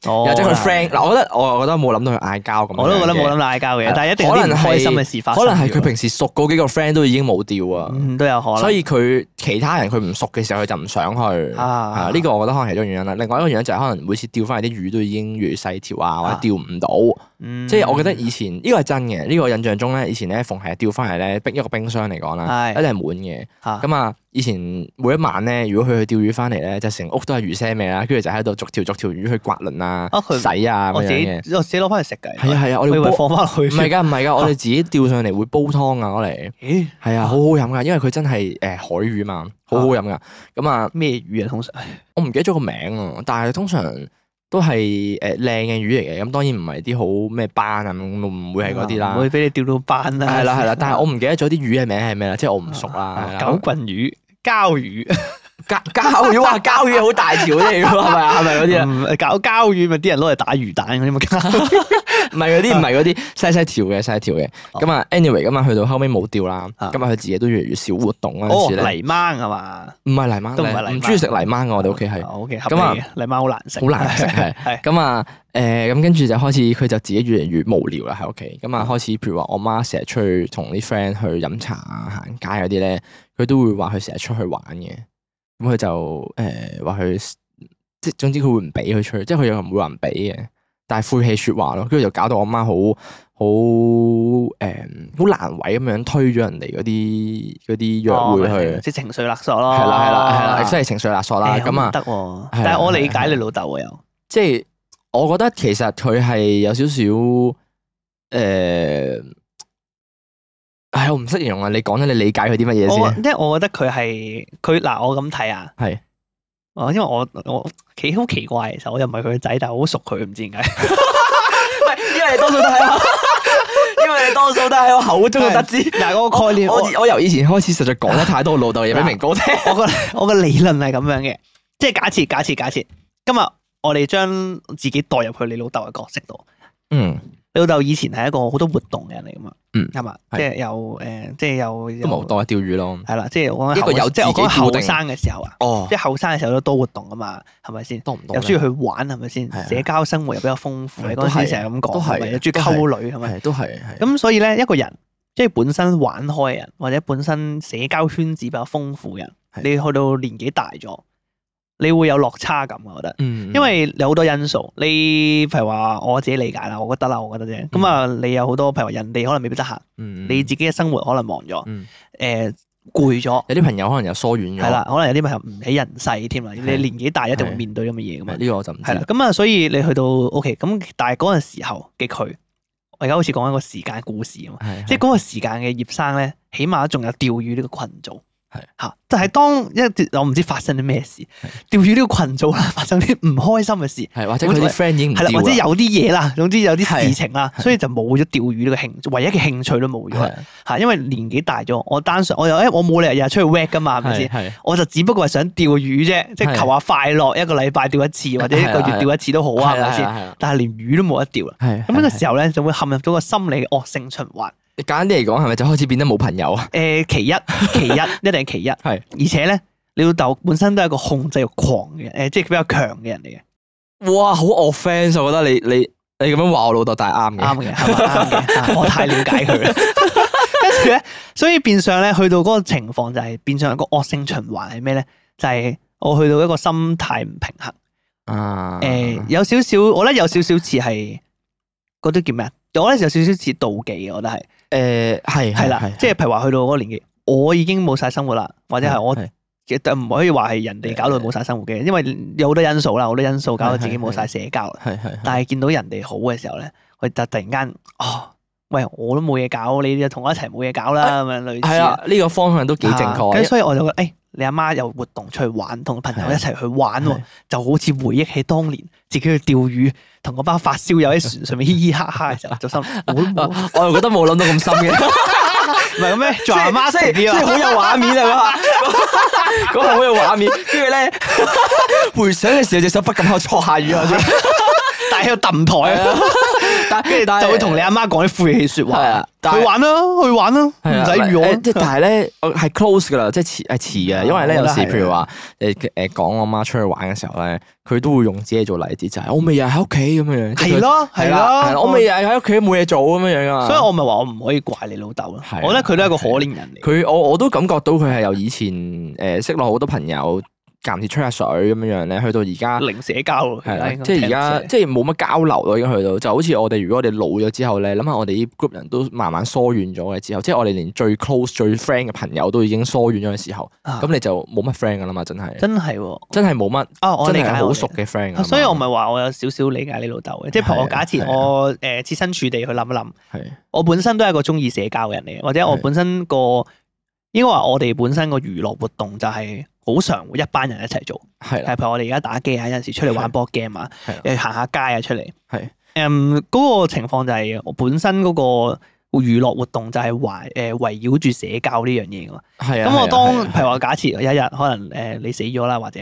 S1: 或者佢 friend 嗱，我覺得我覺得冇諗到佢嗌交咁。
S2: 我都覺得冇諗到嗌交嘅，但係一定有啲唔開心嘅事發生。
S1: 可能係佢平時熟嗰幾個 friend 都已經冇調啊，
S2: 都有可能。
S1: 所以佢其他人佢唔熟嘅時候，佢就唔想去啊。呢個我覺得可能係其中原因啦。另外一個原因就係可能每次釣翻嚟啲魚都已經越細條啊，或者釣唔到。即係我覺得以前呢個係真嘅，呢個印象中咧，以前咧逢係釣翻嚟咧，逼一個冰箱嚟講啦，一定係滿嘅。咁啊，以前每一晚咧，如果佢去釣魚翻嚟咧，就成屋都係魚腥味啦，跟住就喺度逐條逐條魚去刮鱗啊、洗啊咁樣嘅。
S2: 我自己攞翻嚟食㗎。
S1: 係啊係啊，我哋會
S2: 放翻落去。
S1: 唔係㗎唔係㗎，我哋自己釣上嚟會煲湯啊攞嚟。咦？係啊，好好飲㗎，因為佢真係誒海魚嘛，好好飲㗎。咁啊
S2: 咩魚啊？通常
S1: 我唔記得咗個名啊，但係通常都係誒靚嘅魚嚟嘅。咁當然唔係啲好咩斑啊，唔會係嗰啲啦。
S2: 唔會俾你釣到斑啦。
S1: 係啦係啦，但係我唔記得咗啲魚嘅名係咩啦，即係我唔熟啦。
S2: 狗棍魚、膠魚。
S1: 膠膠魚哇，膠魚好大條啲嚟㗎，係咪啊？係咪嗰啲啊？
S2: 搞膠魚咪啲人攞嚟打魚蛋嗰啲咪膠？
S1: 唔係嗰啲，唔係嗰啲細細條嘅細條嘅。咁啊，anyway，咁啊，去到後尾冇釣啦。咁啊，佢自己都越嚟越少活動嗰陣時咧。
S2: 泥鯭係嘛？
S1: 唔係泥鯭，
S2: 都唔係泥鯭。
S1: 唔中意食泥鯭㗎，我哋屋企係。
S2: O K，咁啊，泥鯭好難食。
S1: 好難食係。係。咁啊，誒，咁跟住就開始佢就自己越嚟越無聊啦喺屋企。咁啊，開始譬如話我媽成日出去同啲 friend 去飲茶啊、行街嗰啲咧，佢都會話佢成日出去玩嘅。咁佢就誒話佢即係總之佢會唔俾佢出去，即係佢又唔會話唔俾嘅，但係晦氣説話咯，跟住就搞到我媽好好誒好難為咁樣推咗人哋嗰啲嗰啲約會去，
S2: 即係情緒勒索咯。
S1: 係啦係啦係啦，真係情緒勒索啦。咁啊
S2: 得喎，但係我理解你老豆喎又，
S1: 即係我覺得其實佢係有少少誒。唉，我唔識形容啊！你講咗你理解佢啲乜嘢先？
S2: 即係我覺得佢係佢嗱，我咁睇啊。係。哦，因為我我幾好奇怪，其實我又唔係佢個仔，但係我好熟佢，唔知點解。
S1: 唔係，因為你多數都係，因為你多數都喺我口中得知。嗱，嗰個概念，我我由以前開始實在講得太多老豆嘢俾明哥聽。
S2: 我個我個理論係咁樣嘅，即係假設假設假設，今日我哋將自己代入去你老豆嘅角色度。嗯。你老豆以前係一個好多活動嘅人嚟噶嘛？嗯，係嘛？即係有誒，即係有
S1: 都冇多釣魚咯。
S2: 係啦，即係我
S1: 一個有
S2: 即係我講後生嘅時候啊。
S1: 哦，
S2: 即係後生嘅時候都多活動噶嘛，係咪先？
S1: 多唔多？
S2: 又中意去玩係咪先？社交生活又比較豐富。你嗰陣時成日咁講，係咪？又中意溝女係咪？
S1: 都係。
S2: 咁所以咧，一個人即係本身玩開嘅人，或者本身社交圈子比較豐富嘅人，你去到年紀大咗。你會有落差感，我覺得，因為有好多因素。你譬如話我自己理解啦，我覺得啦，我覺得啫。咁啊，你有好多譬如話人哋可能未必得閒，你自己嘅生活可能忙咗，誒攰咗。
S1: 有啲朋友可能又疏遠咗，
S2: 係啦，可能有啲朋友唔喺人世添啦。你年紀大一定會面對咁嘅嘢噶嘛。
S1: 呢個我就唔知。
S2: 係啦，咁啊，所以你去到 OK，咁但係嗰陣時候嘅佢，我而家好似講一個時間故事啊嘛，即係嗰個時間嘅葉生咧，起碼仲有釣魚呢個群組。係吓，就係當一我唔知發生啲咩事，釣魚呢個群組啦，發生啲唔開心嘅事，係或者佢啲 friend 已經唔釣啦，或者有啲嘢啦，總之有啲事情啦，所以就冇咗釣魚呢個興，唯一嘅興趣都冇咗。吓，因為年紀大咗，我單純我又誒，我冇理由日日出去 work 噶嘛，係咪先？我就只不過係想釣魚啫，即係求下快樂，一個禮拜釣一次或者一個月釣一次都好啊，係咪先？但係連魚都冇得釣啦，咁呢個時候咧就會陷入咗個心理嘅惡性循環。
S1: 簡單啲嚟講，係咪就開始變得冇朋友啊？
S2: 誒，其一，其一，一定係其一。係，而且咧，你老豆本身都係一個控制欲狂嘅，誒，即係比較強嘅人嚟嘅。
S1: 哇，好 offense！我覺得你你你咁樣話我老豆，但係啱嘅，
S2: 啱嘅，係嘛，啱嘅。我太了解佢啦。跟住咧，所以變相咧，去到嗰個情況就係變相一個惡性循環係咩咧？就係我去到一個心態唔平衡。啊。誒，有少少，我覺得有少少似係嗰啲叫咩啊？我覺得有少少似妒忌嘅，我覺得係。誒係係啦，即係譬如話去到嗰個年紀，我已經冇晒生活啦，或者係我其實唔可以話係人哋搞到冇晒生活嘅，因為有好多因素啦，好多因素搞到自己冇晒社交啦。係係。但係見到人哋好嘅時候咧，佢就突然間哦，喂，我都冇嘢搞，你就同我一齊冇嘢搞啦咁樣類似。係啊，
S1: 呢個方向都幾正確。
S2: 咁所以我就覺得，誒，你阿媽有活動出去玩，同朋友一齊去玩喎，就好似回憶起當年自己去釣魚。同嗰班發燒友喺船上面嘻嘻哈哈嘅時候，就心我
S1: 我又覺得冇諗到咁深嘅，
S2: 唔係咁咩？做阿媽
S1: 即係好有畫面啊！嗰下好有畫面，跟住咧回想嘅時候，隻手不禁喺度搓下魚啊，
S2: 但係喺度揼台啊， 跟住就會同你阿媽講啲晦氣説話。
S1: 係啊，
S2: 去玩啦，去玩啦，唔使預我。
S1: 即係但係咧，我係 close 噶啦，即係遲係遲嘅，因為咧有時譬如話誒誒講我媽出去玩嘅時候咧，佢都會用自己做例子，就係我咪日喺屋企咁樣樣。係
S2: 咯，係咯，
S1: 我咪日喺屋企冇嘢做咁樣樣噶嘛。
S2: 所以我咪話我唔可以怪你老豆咯。我覺得佢都係一個可憐人嚟。
S1: 佢我我都感覺到佢係由以前誒識落好多朋友。間唔時吹下水咁樣樣咧，去到而家
S2: 零社交咯，
S1: 係啦，即係而家即係冇乜交流咯，已經去到就好似我哋如果我哋老咗之後咧，諗下我哋啲 group 人都慢慢疏遠咗嘅之後，即係我哋連最 close 最 friend 嘅朋友都已經疏遠咗嘅時候，咁你就冇乜 friend 噶啦嘛，真係真係喎，真係冇乜啊！我理解好熟嘅 friend，所以我咪話我有少少理解你老豆嘅，即係譬如我假設我誒設身處地去諗一諗，我本身都係一個中意社交嘅人嚟嘅，或者我本身個應該話我哋本身個娛樂活動就係。好常會一班人一齊做，係譬如我哋而家打機啊，有陣時出嚟玩 board game啊，誒行下街啊出嚟，係誒嗰個情況就係我本身嗰個娛樂活動就係圍誒圍繞住社交呢樣嘢噶嘛，係啊，咁我當譬如話假設有一日可能誒你死咗啦，或者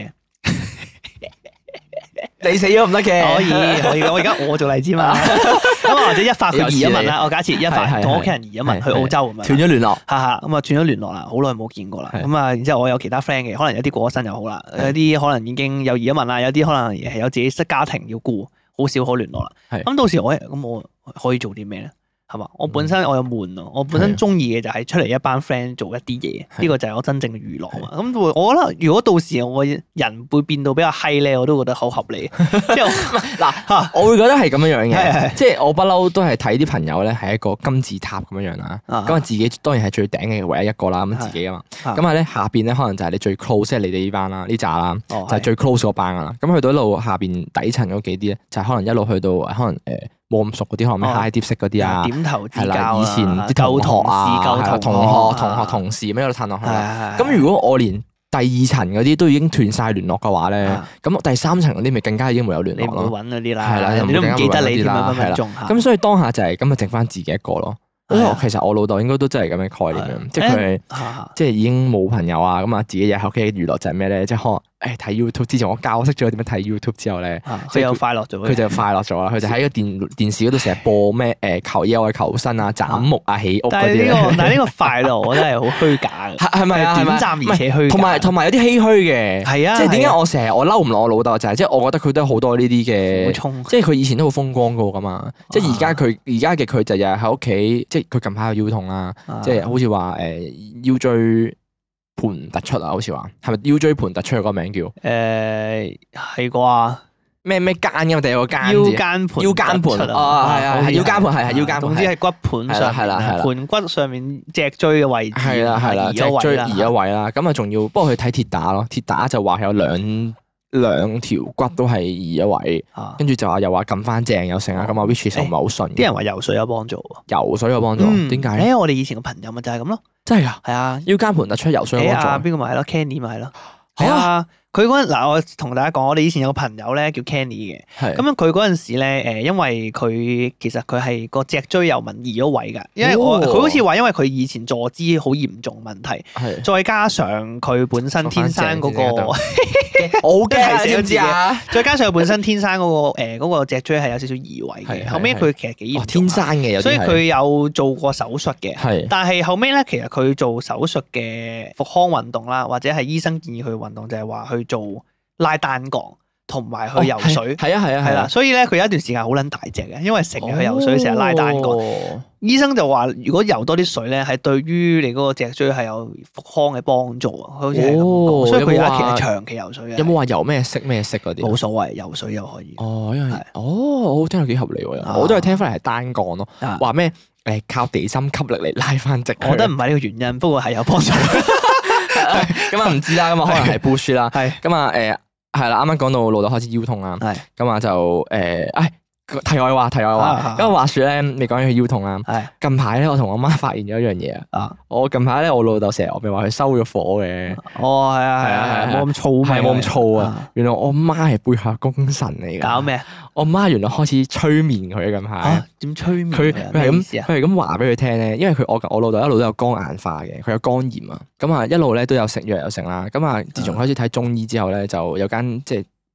S1: 你死咗唔得嘅，可以可以，我而家我做例子嘛，咁或者一發佢移咗民啦，我假設一發同屋企人移咗民去澳洲咁樣，斷咗聯絡，哈哈，咁啊斷咗聯絡啦，好耐冇見過啦，咁啊然之後我有其他 friend 嘅，可能有啲過咗身又好啦，有啲可能已經有移咗民啦，有啲可能係有自己室家庭要顧，好少可聯絡啦，咁到時我咁我可以做啲咩咧？係嘛？我本身我有悶咯，我本身中意嘅就係出嚟一班 friend 做一啲嘢，呢個就係我真正嘅娛樂啊嘛。咁我覺得如果到時我人會變到比較閪咧，我都覺得好合理。即係嗱嚇，我會覺得係咁樣樣嘅，即係我不嬲都係睇啲朋友咧係一個金字塔咁樣樣啦。咁啊自己當然係最頂嘅唯一一個啦，咁自己啊嘛。咁啊咧下邊咧可能就係你最 close，即係你哋呢班啦，呢扎啦，就係最 close 嗰班噶啦。咁去到一路下邊底層嗰幾啲咧，就係可能一路去到可能誒。冇咁熟嗰啲，可能咩 high dip 式嗰啲啊，點頭之交啊，以前啲同學啊，同學、同學、同事咁一路褪落去。咁如果我連第二層嗰啲都已經斷晒聯絡嘅話咧，咁第三層嗰啲咪更加已經冇有聯絡咯。你唔會揾嗰啲啦，係啦，你都唔記得你添啦，係啦。咁所以當下就係咁啊，剩翻自己一個咯。其實我老豆應該都真係咁嘅概念嘅，即係佢係即係已經冇朋友啊，咁啊自己日喺屋企嘅娛樂就係咩咧？即係可能。誒睇 YouTube，之前我教識咗佢點樣睇 YouTube 之後咧，佢又快樂咗。佢就快樂咗啦，佢就喺個電電視嗰度成日播咩誒求野外求生啊、斬木啊、起屋嗰啲。但係呢個但係呢個快樂，我覺得係好虛假嘅。係咪啊？短暫而且虛假。同埋同埋有啲唏噓嘅。係啊。即係點解我成日我嬲唔落我老豆就係即係我覺得佢都好多呢啲嘅，即係佢以前都好風光過噶嘛。即係而家佢而家嘅佢就日日喺屋企，即係佢近排有腰痛啦，即係好似話誒腰椎盤突出啊，好似話係咪腰椎盤突出嗰個名叫？誒係啩？咩咩間㗎嘛？定係個間字？腰間盤腰間盤哦，係啊，係腰間盤，係係腰間盤。總之係骨盤上係啦係啦，盤骨上面脊椎嘅位置係啦係啦，脊椎移咗位啦。咁啊仲要，不過佢睇鐵打咯，鐵打就話有兩兩條骨都係移咗位，跟住就話又話撳翻正又成啊。咁啊 which 就唔係好順。啲人話游水有幫助喎，游水有幫助，點解？誒我哋以前個朋友咪就係咁咯。真係㗎，係啊，腰間盤突出游水嗰種，邊個咪係咯 Kenny 咪係咯，係啊，佢嗰陣嗱，我同大家講，我哋以前有個朋友咧叫 Kenny 嘅，咁樣佢嗰陣時咧，誒，因為佢其實佢係個脊椎有紋移咗位㗎，因為我佢好似話，因為佢以前坐姿好嚴重問題，再加上佢本身天生嗰個，我好驚知唔知啊？再加上佢本身天生嗰個誒嗰個脊椎係有少少移位嘅，後尾佢其實幾嚴重，天生嘅，所以佢有做過手術嘅，但係後尾咧，其實佢做手術嘅復康運動啦，或者係醫生建議佢運動就係話去做拉單槓同埋去游水，係啊係啊係啦，所以咧佢有一段時間好撚大隻嘅，因為成日去游水，成日拉單槓。醫生就話如果游多啲水咧，係對於你嗰個脊椎係有復康嘅幫助啊，好似係咁講，所以佢有一期係長期游水嘅。有冇話游咩色咩色嗰啲？冇所謂，游水又可以。哦，因為哦，我聽到幾合理喎，我都係聽翻嚟係單槓咯，話咩誒靠地心吸力嚟拉翻直。我覺得唔係呢個原因，不過係有幫助。咁啊唔知啦，咁啊可能係 push 啦，係咁啊誒係啦，啱啱講到老豆開始腰痛啦，係咁啊就誒，誒題外話題外話，咁話說咧，你講起佢腰痛啦，係近排咧，我同我媽發現咗一樣嘢啊，我近排咧，我老豆成日我咪話佢收咗火嘅，哦係啊係啊係，冇咁燥，係冇咁燥啊，原來我媽係背後功臣嚟噶，搞咩？我媽原來開始催眠佢近排，點催眠？佢佢係咁佢係咁話俾佢聽咧，因為佢我我老豆一路都有肝硬化嘅，佢有肝炎啊，咁啊一路咧都有食藥有食啦，咁啊自從開始睇中醫之後咧，就有間即係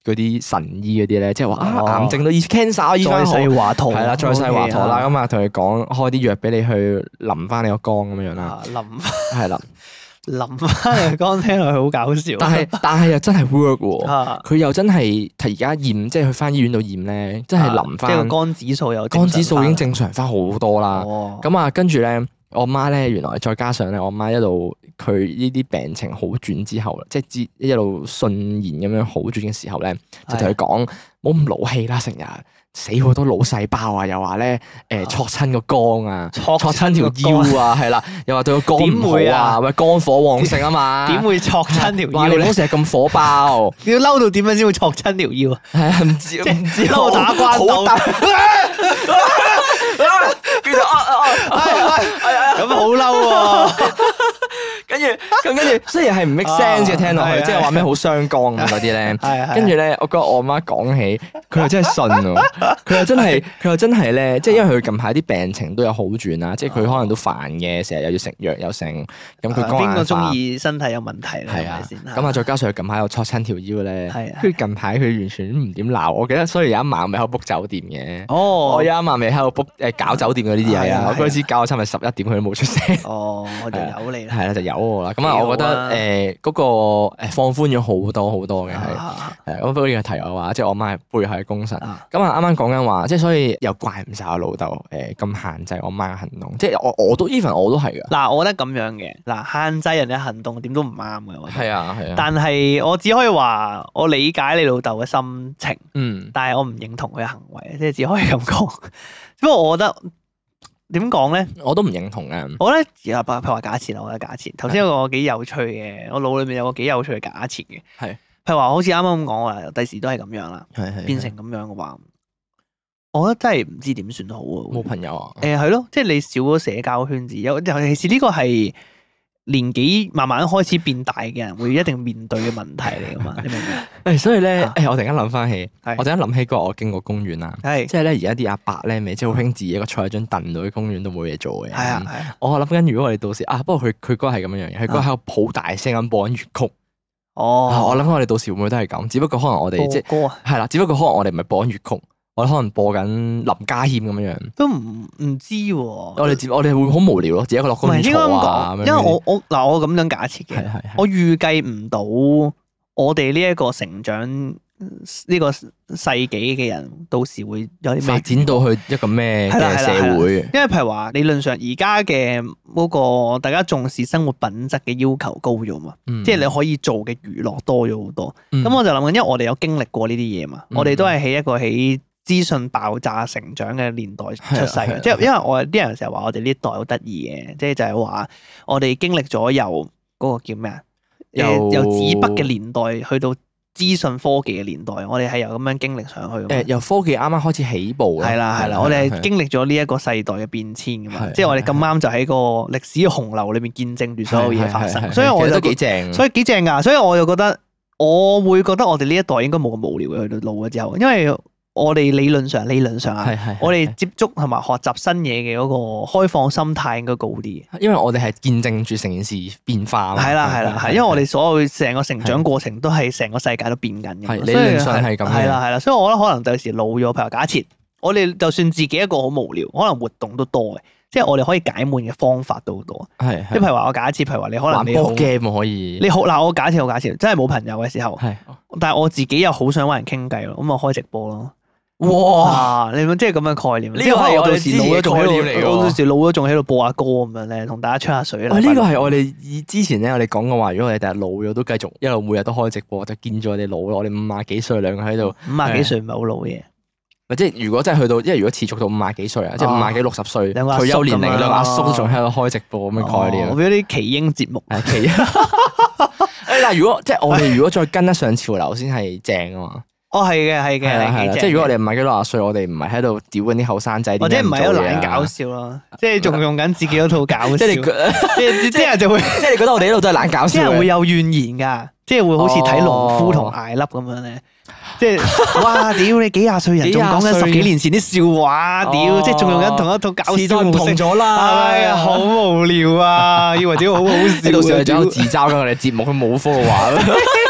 S1: 嗰啲神醫嗰啲咧，即係話啊
S2: 哦
S1: 癌症都醫 cancer 醫
S2: 再
S1: 翻好，
S2: 世華佗
S1: 係啦，再世華佗啦，
S2: OK
S1: 咁啊同佢講開啲藥俾你去淋翻你個肝咁樣樣啦，
S2: 啊淋
S1: 係啦，
S2: 淋翻嚟肝聽落去好搞笑。
S1: 但係但係又真係 work 喎，
S2: 啊
S1: 佢又真係而家驗，即係去翻醫院度驗咧，真係淋翻
S2: 即係個肝指數有
S1: 肝指數已經正常翻好多啦。
S2: 哦，
S1: 咁啊，跟住咧，我媽咧原來再加上咧，我媽一路佢呢啲病情好轉之後，即係之一路順延咁樣好轉嘅時候咧，就同佢講冇咁勞氣啦，成日死好多腦細胞啊，又話咧誒挫親個肝啊，挫親條腰啊，係啦，又話對個肝唔好啊，喂肝火旺盛啊嘛，
S2: 點會挫親條
S1: 話
S2: 腰咧？
S1: 你唔好成日咁火爆，
S2: 你要嬲到點樣先會挫親條腰啊？
S1: 係啊，唔知唔知
S2: 嬲到打關鬥
S1: 好大跟住啊啊啊！
S2: 咁好嬲喎！
S1: 跟住咁跟住，雖然係唔 make sense 嘅聽落去，
S2: 係係
S1: 即係話咩好傷肝咁嗰啲咧。
S2: 係係
S1: 跟住咧，我覺得我媽講起，佢又真係信喎。佢又真係，佢又真係咧，即係因為佢近排啲病情都有好轉啦，即係佢可能都煩嘅，成日又要食藥又成。咁佢肝
S2: 邊個中
S1: 硬化。
S2: 意身體有問題咧？
S1: 係啊
S2: 係咪先？
S1: 咁啊，再加上佢近排又挫親條腰咧，
S2: 係啊
S1: 跟住近排佢完全唔點鬧。我記得，所以有一晚咪喺度 book 酒店嘅。
S2: 哦，
S1: 我有一晚咪喺度 book 誒搞酒店嗰啲嘢啊！
S2: 係啊
S1: 我嗰陣時搞到差唔多十一點，佢都冇出聲。
S2: 哦，我就有你啦。
S1: 係啦，就有我啦。咁啊，
S2: 幾好啊
S1: 我覺得誒嗰個誒放寬咗好多好多嘅係。
S2: 啊
S1: 係咁不過呢個題外話，即係我媽係背後嘅功臣。
S2: 啊
S1: 咁啊，啱啱講緊話，即係所以又怪唔晒我老豆誒咁限制我媽嘅行動。即係我我都 even 我都係㗎。
S2: 嗱，我覺得咁樣嘅嗱，限制人嘅行動點都唔啱嘅，我覺得。
S1: 係啊係啊。
S2: 但係我只可以話，我理解你老豆嘅心情，
S1: 嗯
S2: 但係我唔認同佢嘅行為，即係只可以咁講。不過我覺得點講咧？
S1: 我都唔認同嘅。
S2: 我覺得而家譬如話假設啦，我覺得假設頭先有個幾有趣嘅，我腦裏面有個幾有趣嘅假設嘅。
S1: 係
S2: 譬如話好似啱啱咁講話，第時都係咁樣啦，
S1: 係係
S2: 變成咁樣嘅話，我覺得真係唔知點算好喎。
S1: 冇朋友啊。
S2: 誒係咯，即係你少咗社交圈子，有尤其是呢個係年紀慢慢開始變大嘅人會一定面對嘅問題嚟噶嘛，你明唔明？
S1: 誒，所以咧，
S2: 啊
S1: 誒，我突然間諗翻起，
S2: 係
S1: 我突然間諗起嗰日我經過公園啦，
S2: 係
S1: 即係咧而家啲阿伯咧，咪即係好興自己一個坐喺張凳度喺公園度冇嘢做嘅。
S2: 係啊係啊，
S1: 我諗緊，如果我哋到時啊，不過佢佢嗰日係咁樣樣嘅，佢嗰日喺度好大聲咁播緊粵曲。啊
S2: 哦，
S1: 我諗緊我哋到時會唔會都係咁？只不過可能我哋即係
S2: 歌啊，
S1: 係啦，只不過可能我哋唔係播緊粵曲，我哋可能播緊林家謙咁樣樣。
S2: 都唔唔知喎。
S1: 我哋接我哋會好無聊咯，自己一個落
S2: 唔
S1: 公園
S2: 係應該咁
S1: 坐啊。
S2: 講，因為我我嗱我咁樣假設嘅，
S1: 係係係
S2: 我預計唔到我哋呢一個成長呢個世紀嘅人，到時會有啲咩
S1: 發展到去一個咩
S2: 係啦
S1: 嘅
S2: 係啦係啦
S1: 社會。
S2: 因為譬如話理論上而家嘅嗰個大家重視生活品質嘅要求高咗嘛，
S1: 嗯
S2: 即係你可以做嘅娛樂多咗好多。
S1: 嗯
S2: 咁我就諗緊，因為我哋有經歷過呢啲嘢嘛，
S1: 嗯
S2: 我哋都係喺一個喺資訊爆炸成長嘅年代出世
S1: 係啊係啊
S2: 嘅，即係因為我啲人成日話我哋呢一代好得意嘅，即係就係話我哋經歷咗由嗰個叫咩啊，誒
S1: 由
S2: 由紙筆嘅年代去到資訊科技嘅年代，我哋係由咁樣經歷上去㗎嘛。
S1: 誒由科技啱啱開始起步啦
S2: 係啦係啦，我哋係經歷咗呢一個世代嘅變遷噶嘛，
S1: 係
S2: 即係我哋咁啱就喺個歷史嘅洪流裏面見證住所有嘢發生，
S1: 係係係係
S2: 所以我就
S1: 其實都幾正。
S2: 所以幾正㗎，所以我就覺得我會覺得我哋呢一代應該冇咁無聊嘅去到老咗之後，因為我哋理論上理論上啊
S1: 係係係，
S2: 我哋接觸同埋學習新嘢嘅嗰個開放心態應該高啲。
S1: 因為我哋係見證住成件事變化嘛。
S2: 係啦係啦係，因為我哋所有成個成長過程都係成個世界都變緊嘅嘛，
S1: 係
S2: 所以
S1: 理論上係咁嘅
S2: 係啦係啦，所以我覺得可能第時老咗，譬如假設我哋就算自己一個好無聊，可能活動都多嘅，即係我哋可以解悶嘅方法都好多。
S1: 係
S2: 即係譬如話我假設，譬如話你可能
S1: 玩
S2: 你好
S1: board game 可以。
S2: 你好嗱，我假設我假設真係冇朋友嘅時候，
S1: 係
S2: 但係我自己又好想揾人傾偈咯，咁我開直播咯。
S1: 哇！
S2: 啊！你咪即係咁嘅概念，
S1: 呢個
S2: 即係可能
S1: 係我哋
S2: 我到時老咗仲喺
S1: 之前嘅概念嚟
S2: 度，
S1: 㗎
S2: 我到時老咗仲喺度播下歌咁樣咧，同大家吹下水啦。
S1: 喂，呢個係我哋以之前咧，我哋講過話，如果我哋第日老咗，都繼續一路每日都開直播，就見咗我哋老咯。我哋五廿幾歲兩個喺度，
S2: 五廿幾歲唔係好老嘅，
S1: 咪即係如果真係去到，因為如果持續到五廿幾歲啊，即係五廿幾六十歲
S2: 兩個阿叔
S1: 退休年齡，
S2: 咁樣
S1: 兩個阿叔都仲喺度開直播咁嘅概念
S2: 哦。我俾啲奇英節目，
S1: 係其誒，但係如果即係我哋如果再跟得上潮流先係正啊嘛。
S2: 哦係嘅係嘅
S1: 係啦係啦，
S2: 係幾正
S1: 即係如果我哋唔係幾六十歲，我哋唔係喺度屌緊啲後生仔，
S2: 或者唔係喺度懶搞
S1: 笑，
S2: 笑咯，即係仲用緊自己嗰套搞笑，
S1: 即係你
S2: 即係啲人就會，
S1: 即係你覺得我哋呢度都係懶搞
S2: 啲
S1: 笑嘅。
S2: 人會有怨言㗎，即係會好似睇農夫同艾粒咁樣咧。即係哇！屌你幾廿歲人仲講緊十幾年前啲笑話，屌！
S1: 哦
S2: 即係仲用緊同一套搞
S1: 時代唔
S2: 笑模式，
S1: 同咗啦，
S2: 哎呀，好無聊啊！以為自己好好笑啊，
S1: 你到時候仲有
S2: 屌
S1: 自嘲緊我哋節目，佢冇科話。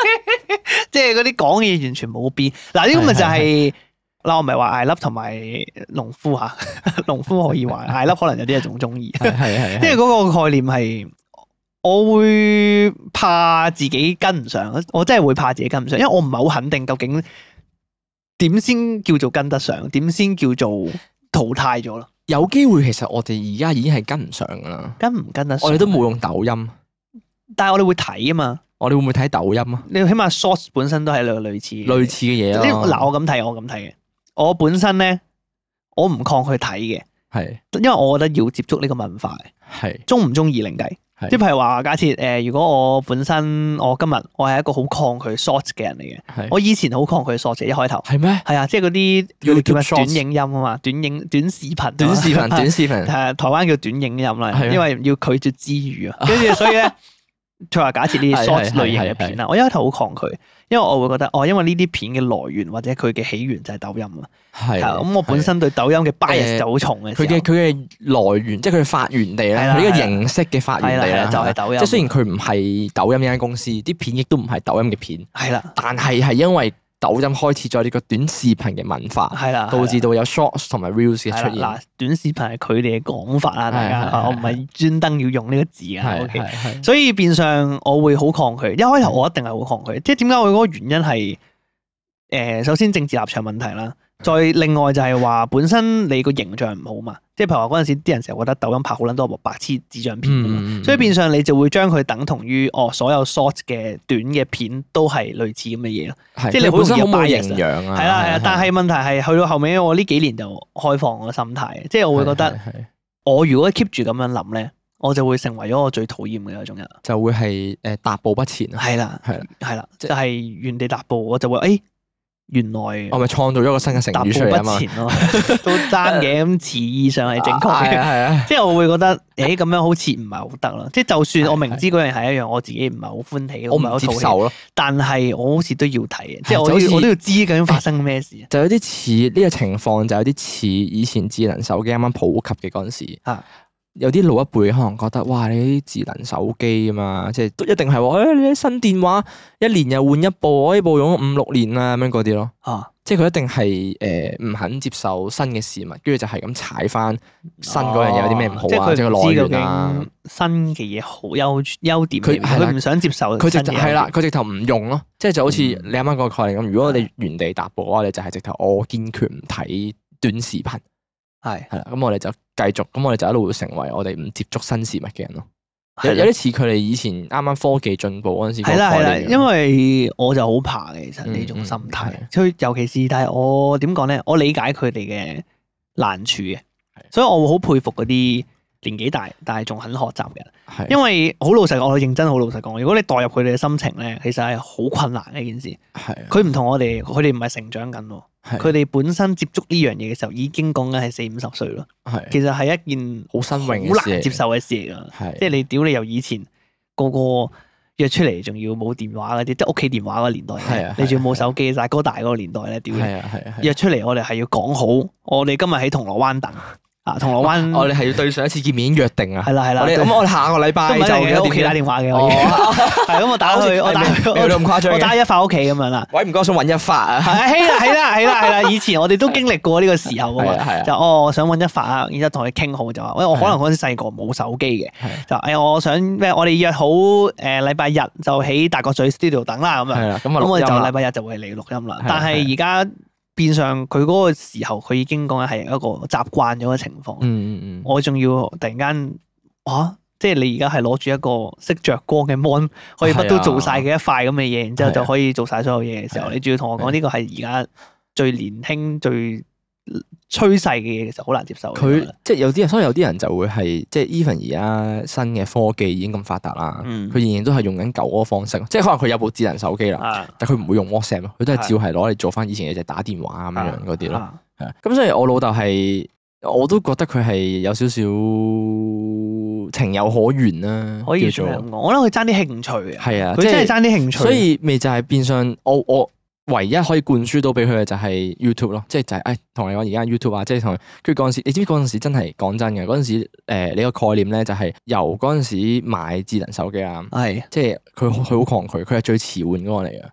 S2: 即係嗰啲講嘅嘢完全冇變。嗱呢個咪就係嗱，我唔係話艾粒同埋農夫嚇，農夫可以話艾粒可能有啲人仲中意，
S1: 係係
S2: 即係嗰個概念係。我會怕自己跟唔上，我真係會怕自己跟唔上，因為我唔係好肯定究竟點先叫做跟得上，點先叫做淘汰咗咯。
S1: 有機會其實我哋而家已經係跟唔上噶啦，
S2: 跟唔跟得上？
S1: 我哋都冇用抖音，
S2: 但係我哋會睇啊嘛。
S1: 我哋會唔會睇抖音啊？
S2: 你起碼 Shorts 本身都係類類似
S1: 類似嘅嘢咯。
S2: 嗱，我咁睇，我咁睇嘅。我本身咧，我唔抗拒睇嘅，
S1: 係，
S2: 因為我覺得要接觸呢個文化嘅，
S1: 係
S2: 中唔中意另計。即係譬如話，假設誒，如果我本身我今日我係一個好抗拒 Shorts 嘅人嚟嘅，我以前好抗拒 Shorts 一開頭。係咩？係啊，即係嗰啲叫叫咩短影音啊嘛，短影短視頻。
S1: 短視頻，短視頻。
S2: 係台灣叫短影音啦，因為要拒絕之語啊。跟住所以咧，譬如話假設呢啲 Shorts 類型嘅片啦，我一開頭好抗拒，因為我會覺得哦，因為呢啲片嘅來源或者佢嘅起源就係抖音啊。係咁，我本身對抖音嘅 bias 就好重嘅。佢
S1: 嘅佢嘅來源，即係佢發源地咧，佢呢個形式嘅發源地咧，
S2: 就係抖音。
S1: 即係雖然佢唔係抖音呢間公司，啲片亦都唔係抖音嘅片。係啦，但係係因為抖音開始咗呢個短視頻嘅文化，係啦，導致到有 shorts 同埋 reels 嘅出現。嗱，短視頻係佢哋嘅講法啦，大家，我唔係專登要用呢個字啊。OK，所以變相我會好抗拒。一開頭我一定係好抗拒，即係點解我嗰個原因係誒，首先政治立場問題啦。再另外就係話本身你個形象唔好嘛，即係譬如話嗰陣時啲人成日覺得抖音拍好撚多部白痴智障片，嗯、所以變相你就會將佢等同於哦所有 short 嘅短嘅片都係類似咁嘅嘢咯， 是
S2: 即係你好容易有 bias
S1: 營養啊，
S2: 係啦係啦，但係問題係去到後尾我呢幾年就開放我個心態，即係我會覺得我如果 keep 住咁樣諗咧，我就會成為咗我最討厭嘅嗰種人，就會係誒踏步不前啊，係啦係啦係啦，就係原地踏步，我就會誒。哎原來我咪創造咗個新嘅成語出嚟啊嘛，都爭嘅，咁詞義上係正確嘅，係啊，即係我會覺得，誒咁樣好似唔係好得咯，即係就算我明知嗰樣係一樣，我自己唔係好歡喜，我唔係好接受咯，但係我好似都要睇嘅，即係我我都要知究竟發生咩事，就有啲似呢個情況，就有啲似以前智能手機啱啱普及嘅嗰陣時。有啲老一輩可能覺得，哇！你啲智能手機啊嘛，即係都一定係喎。誒、哎，你啲新電話一年又換一部，我呢部用咗五六年啦，咁樣嗰啲咯。啊！即係佢一定係誒唔肯接受新嘅事物，跟住就係咁踩翻新嗰樣嘢有啲咩唔好啊，即係個來源啊。新嘅嘢好優優點，佢佢唔想接受。佢直係啦，佢直頭唔用咯。即係就好似你啱啱個概念咁，如果你原地踏步嘅話，你就係直頭我堅決唔睇短視頻。係係啦，咁我哋就繼續，咁我哋就一路會成為我哋唔接觸新事物嘅人咯。有有啲似佢哋以前啱啱科技進步嗰陣時。係啦係啦，因為我就好怕嘅，其實呢種心態。所以尤其是，但係我點講咧？我理解佢哋嘅難處嘅，所以我會好佩服嗰啲年紀大但係仲肯學習嘅人。係，因為好老實講，我認真好老實講，如果你代入佢哋嘅心情咧，其實係好困難嘅一件事。係，佢唔同我哋，佢哋唔係成長緊。佢哋本身接觸呢樣嘢嘅時候，已經講緊係四五十歲咯。係，其實係一件好新穎、好難接受嘅事嚟㗎。係，即係你屌你由以前個個約出嚟，仲要冇電話嗰啲，即係屋企電話嗰個年代。係啊，你仲要冇手機，大哥大嗰個年代咧，屌你！係啊係啊，約出嚟我哋係要講好，我哋今日喺銅鑼灣等。啊，銅鑼灣，我哋係要對上一次見面已經約定啊。係啦係啦，咁我哋下個禮拜就喺屋企打電話嘅。哦，係咁我打去，我打去，我咁誇張，我打一發屋企咁樣啦。喂，唔該，想揾一發啊。係啦係啦係啦係啦，以前我哋都經歷過呢個時候啊嘛。就哦，我想揾一發啊，然之後同佢傾好就話，喂，我可能嗰陣時細個冇手機嘅，就誒我想咩？我哋約好誒禮拜日就喺大角咀 studio 等啦咁樣。係啦，咁我就禮拜日就會嚟錄音啦。但係而家。變相佢嗰個時候，佢已經講緊係一個習慣咗嘅情況。嗯嗯嗯。我仲要突然間，哇！即係你而家係攞住一個識着光嘅 mon，可以乜都做晒嘅一塊咁嘅嘢，然之後就可以做晒所有嘢嘅時候，你仲要同我講呢個係而家最年輕、最趨勢嘅嘢，其實好難接受。佢即係有啲人，所以有啲人就會係即係 even 而家新嘅科技已經咁發達啦，佢仍然都係用緊舊嗰個方式，即係可能佢有部智能手機啦，但佢唔會用 WhatsApp 咯，佢都係照係攞嚟做翻以前嘅就打電話咁樣嗰啲咯。係啊，咁所以我老豆係我都覺得佢係有少少情有可原啦，可以做。我覺得佢爭啲興趣嘅，係啊，佢真係爭啲興趣。所以咪就係變相我我。唯一可以灌輸到俾佢嘅就係 YouTube 咯，即係就係誒同你講而家 YouTube 啊，即係同佢嗰陣時，你知唔知嗰陣時真係講真嘅嗰陣時誒呢個概念咧就係由嗰陣時買智能手機啊，係即係佢佢好抗拒，佢係最遲換嗰個嚟嘅，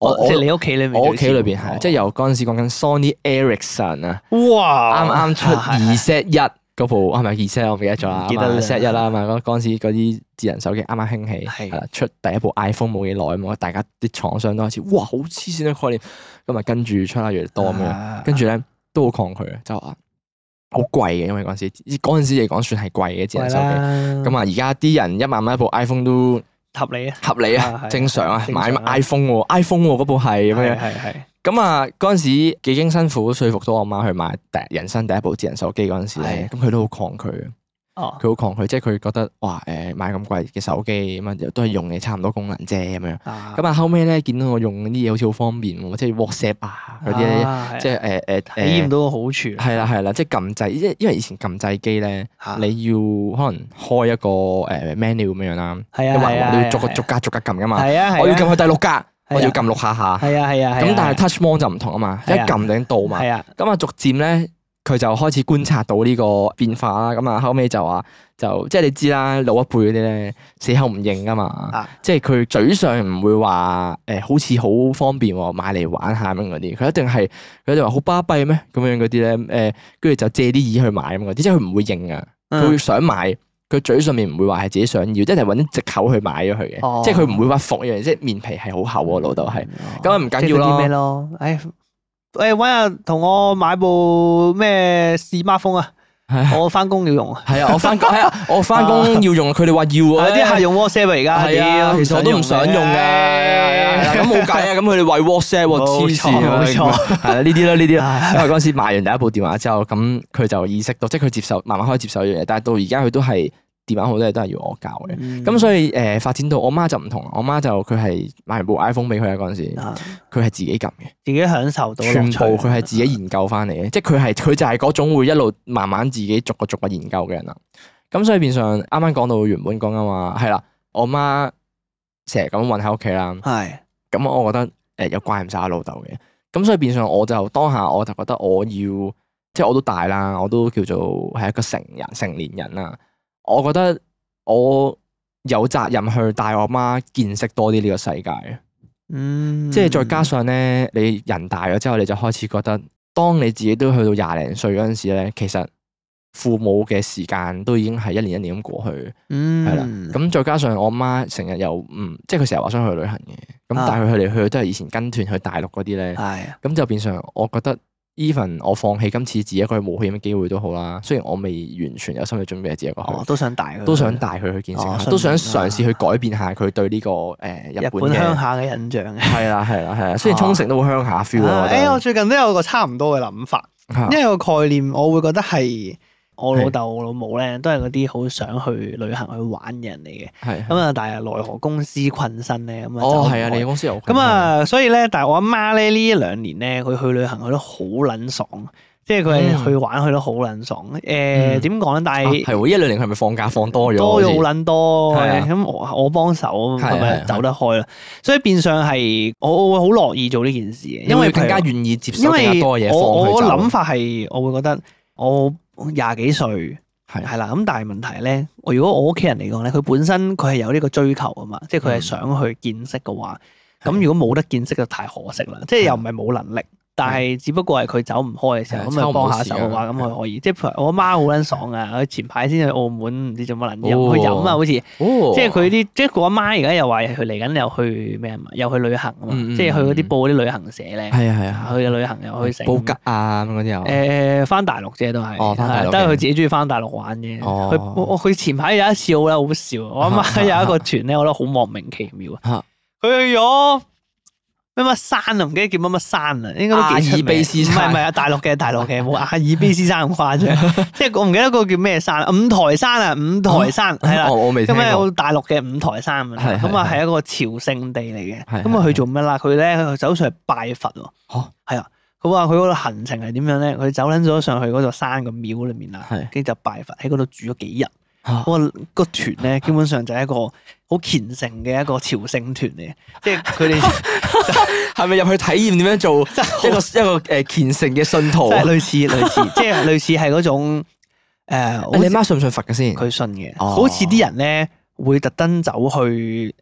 S1: 我
S2: 即係你屋企裏面，
S1: 我屋企裏邊係，即係由嗰陣時講緊 Sony Ericsson 啊，
S2: 哇！
S1: 啱啱出二 Z 一嗰部係咪二 Z 我唔記得咗啦，
S2: 記得
S1: Z 一啦嘛，嗰嗰陣時嗰啲智能手機啱啱興起，
S2: 係
S1: 係啦，出第一部 iPhone 冇幾耐啊嘛，大家啲廠商都開始哇好黐線嘅概念，咁啊跟住出啦越嚟越多咁樣，跟住咧都好抗拒嘅，就話好貴嘅，因為嗰陣時嗰陣時嚟講算係貴嘅智能手機，咁啊而家啲人一萬蚊一部 iPhone 都
S2: 合理啊，
S1: 合理啊，正常啊，買 iPhone 喎 iPhone 喎嗰部係咁樣，
S2: 係係。
S1: 咁啊嗰陣時幾經辛苦說服到我媽去買第人生第一部智能手機嗰陣時咧，咁佢都好抗拒嘅。哦，佢好抗拒，即係佢覺得哇誒買咁貴嘅手機咁啊，都係用嘅差唔多功能啫咁樣。咁啊後尾咧見到我用啲嘢好似好方便喎，即係 WhatsApp 啊嗰啲咧，即係誒誒體
S2: 驗到個好處。
S1: 係啦係啦，即係撳掣，因因為以前撳掣機咧，你要可能開一個誒 menu 咁樣啦，
S2: 係啊係啊，
S1: 你要逐個逐格逐格撳噶嘛。
S2: 係啊係啊，
S1: 我要撳去第六格，我要撳六下下。
S2: 係啊係啊，
S1: 咁但係 touch mon 就唔同啊嘛，一撳就已經到嘛。係啊，咁啊逐漸咧。佢就開始觀察到呢個變化啦，咁啊後尾就話就即係你知啦，老一輩嗰啲咧死口唔認噶嘛，啊、即係佢嘴上唔會話誒、呃、好似好方便喎，買嚟玩下咁嗰啲，佢一定係佢就話好巴閉咩咁樣嗰啲咧誒，跟、呃、住就借啲意去買咁嗰啲，即係佢唔會認啊，佢會想買，佢嘴上面唔會話係自己想要，即係揾啲藉口去買咗佢嘅，哦、即係佢唔會話服一樣，即係面皮係好厚喎，老豆係，咁啊唔緊要咯。
S2: 咩咯？哎誒，搵日同我買部咩 smartphone 啊！我翻工要用啊。係啊，
S1: 我翻工係啊，我翻工要用，佢哋話要啊。
S2: 啲客用 WhatsApp 而家，
S1: 係啊，其實我都唔想用嘅。係啊，咁冇計啊，咁佢哋為 WhatsApp 黐線啊，冇錯，係啊，呢啲啦，呢啲啦。因為嗰陣時買完第一部電話之後，咁佢就意識到，即係佢接受，慢慢開始接受呢樣嘢。但係到而家佢都係。電話好多嘢都係要我教嘅，咁、嗯、所以誒、呃、發展到我媽就唔同，我媽就佢係買完部 iPhone 俾佢啊嗰陣時，佢係、啊、自己撳嘅，
S2: 自己享受到
S1: 全部佢係自己研究翻嚟嘅，即係佢係佢就係嗰種會一路慢慢自己逐個逐個研究嘅人啦。咁所以變相啱啱講到原本講緊話係啦，我媽成日咁韞喺屋企啦，係是，咁我覺得誒又怪唔晒我老豆嘅，咁所以變相我就當下我就覺得我要即係我都大啦，我都叫做係一個成人成年人啦。我覺得我有責任去帶我媽見識多啲呢個世界，嗯，即係再加上咧，你人大咗之後，你就開始覺得，當你自己都去到廿零歲嗰陣時咧，其實父母嘅時間都已經係一年一年咁過去，嗯，係啦。咁再加上我媽成日又唔，即係佢成日話想去旅行嘅，咁但係佢嚟去去都係以前跟團去大陸嗰啲咧，係，咁就變相我覺得。even 我放棄今次自己一個去冒險嘅機會都好啦，雖然我未完全有心理準備自己一個去，
S2: 都想帶佢，
S1: 都想帶佢去見識，都想嘗試去改變下佢對呢個誒日本
S2: 鄉下嘅印象嘅。係
S1: 啦係啦係啦，雖然沖繩都好鄉下 feel 啊。
S2: 誒，我最近都有個差唔多嘅諗法，因為個概念我會覺得係我老豆我老母咧，都係嗰啲好想去旅行去玩嘅人嚟嘅。係咁啊，但係奈何公司困身咧，咁啊
S1: 哦係啊，你公司有
S2: 咁啊，所以咧，但係我阿媽咧呢一兩年咧，佢去旅行去得好撚爽，即係佢係去玩去得好撚爽。誒點講咧？但係
S1: 係喎，一兩年佢係咪放假放多咗？
S2: 多咗好撚多，咁我我幫手，係咪走得開啦？所以變相係我我會好樂意做呢件事嘅，因為
S1: 更加願意接受更加多嘢。
S2: 我我諗法係，我會覺得我。廿幾歲係係啦，咁但係問題咧，我如果我屋企人嚟講咧，佢本身佢係有呢個追求啊嘛，即係佢係想去見識嘅話，咁、嗯、如果冇得見識就太可惜啦，即係又唔係冇能力。但係只不過係佢走唔開嘅時候，咁咪幫下手嘅話，咁佢可以。即係譬如我阿媽好撚爽啊！佢前排先去澳門，唔知做乜撚嘢，去飲啊，好似。即係佢啲，即係我阿媽而家又話佢嚟緊又去咩啊嘛？又去旅行啊嘛！即係去嗰啲報嗰啲旅行社咧。係啊係啊，去旅行又去成。
S1: 布吉啊咁嗰啲又。
S2: 誒，翻大陸啫都係。哦，翻大陸。都係佢自己中意翻大陸玩嘅。佢佢前排有一次好啦，好笑。我阿媽有一個團咧，我覺得好莫名其妙啊。佢去咗。乜乜山啊？唔記得叫乜乜山啊？應該都幾出名。阿爾卑斯山唔係唔係啊？大陸嘅大陸嘅冇阿爾卑斯山咁誇張。即係我唔記得嗰個叫咩山，五台山啊，五台山係啦。我未聽過。咁咧，大陸嘅五台山咁啊，咁啊係一個朝聖地嚟嘅。咁啊去做咩啦？佢咧佢走上去拜佛喎。嚇係啊！佢話佢嗰個行程係點樣咧？佢走撚咗上去嗰座山個廟裏面啦，跟住就拜佛喺嗰度住咗幾日。嗰個個團咧，基本上就係一個好虔誠嘅一個朝聖團嚟嘅，即係佢哋
S1: 係咪入去體驗點樣做一個一個誒虔誠嘅信徒？
S2: 類似類似，即係類似係嗰種誒。
S1: 你媽信唔信佛嘅先？
S2: 佢信嘅，好似啲人咧會特登走去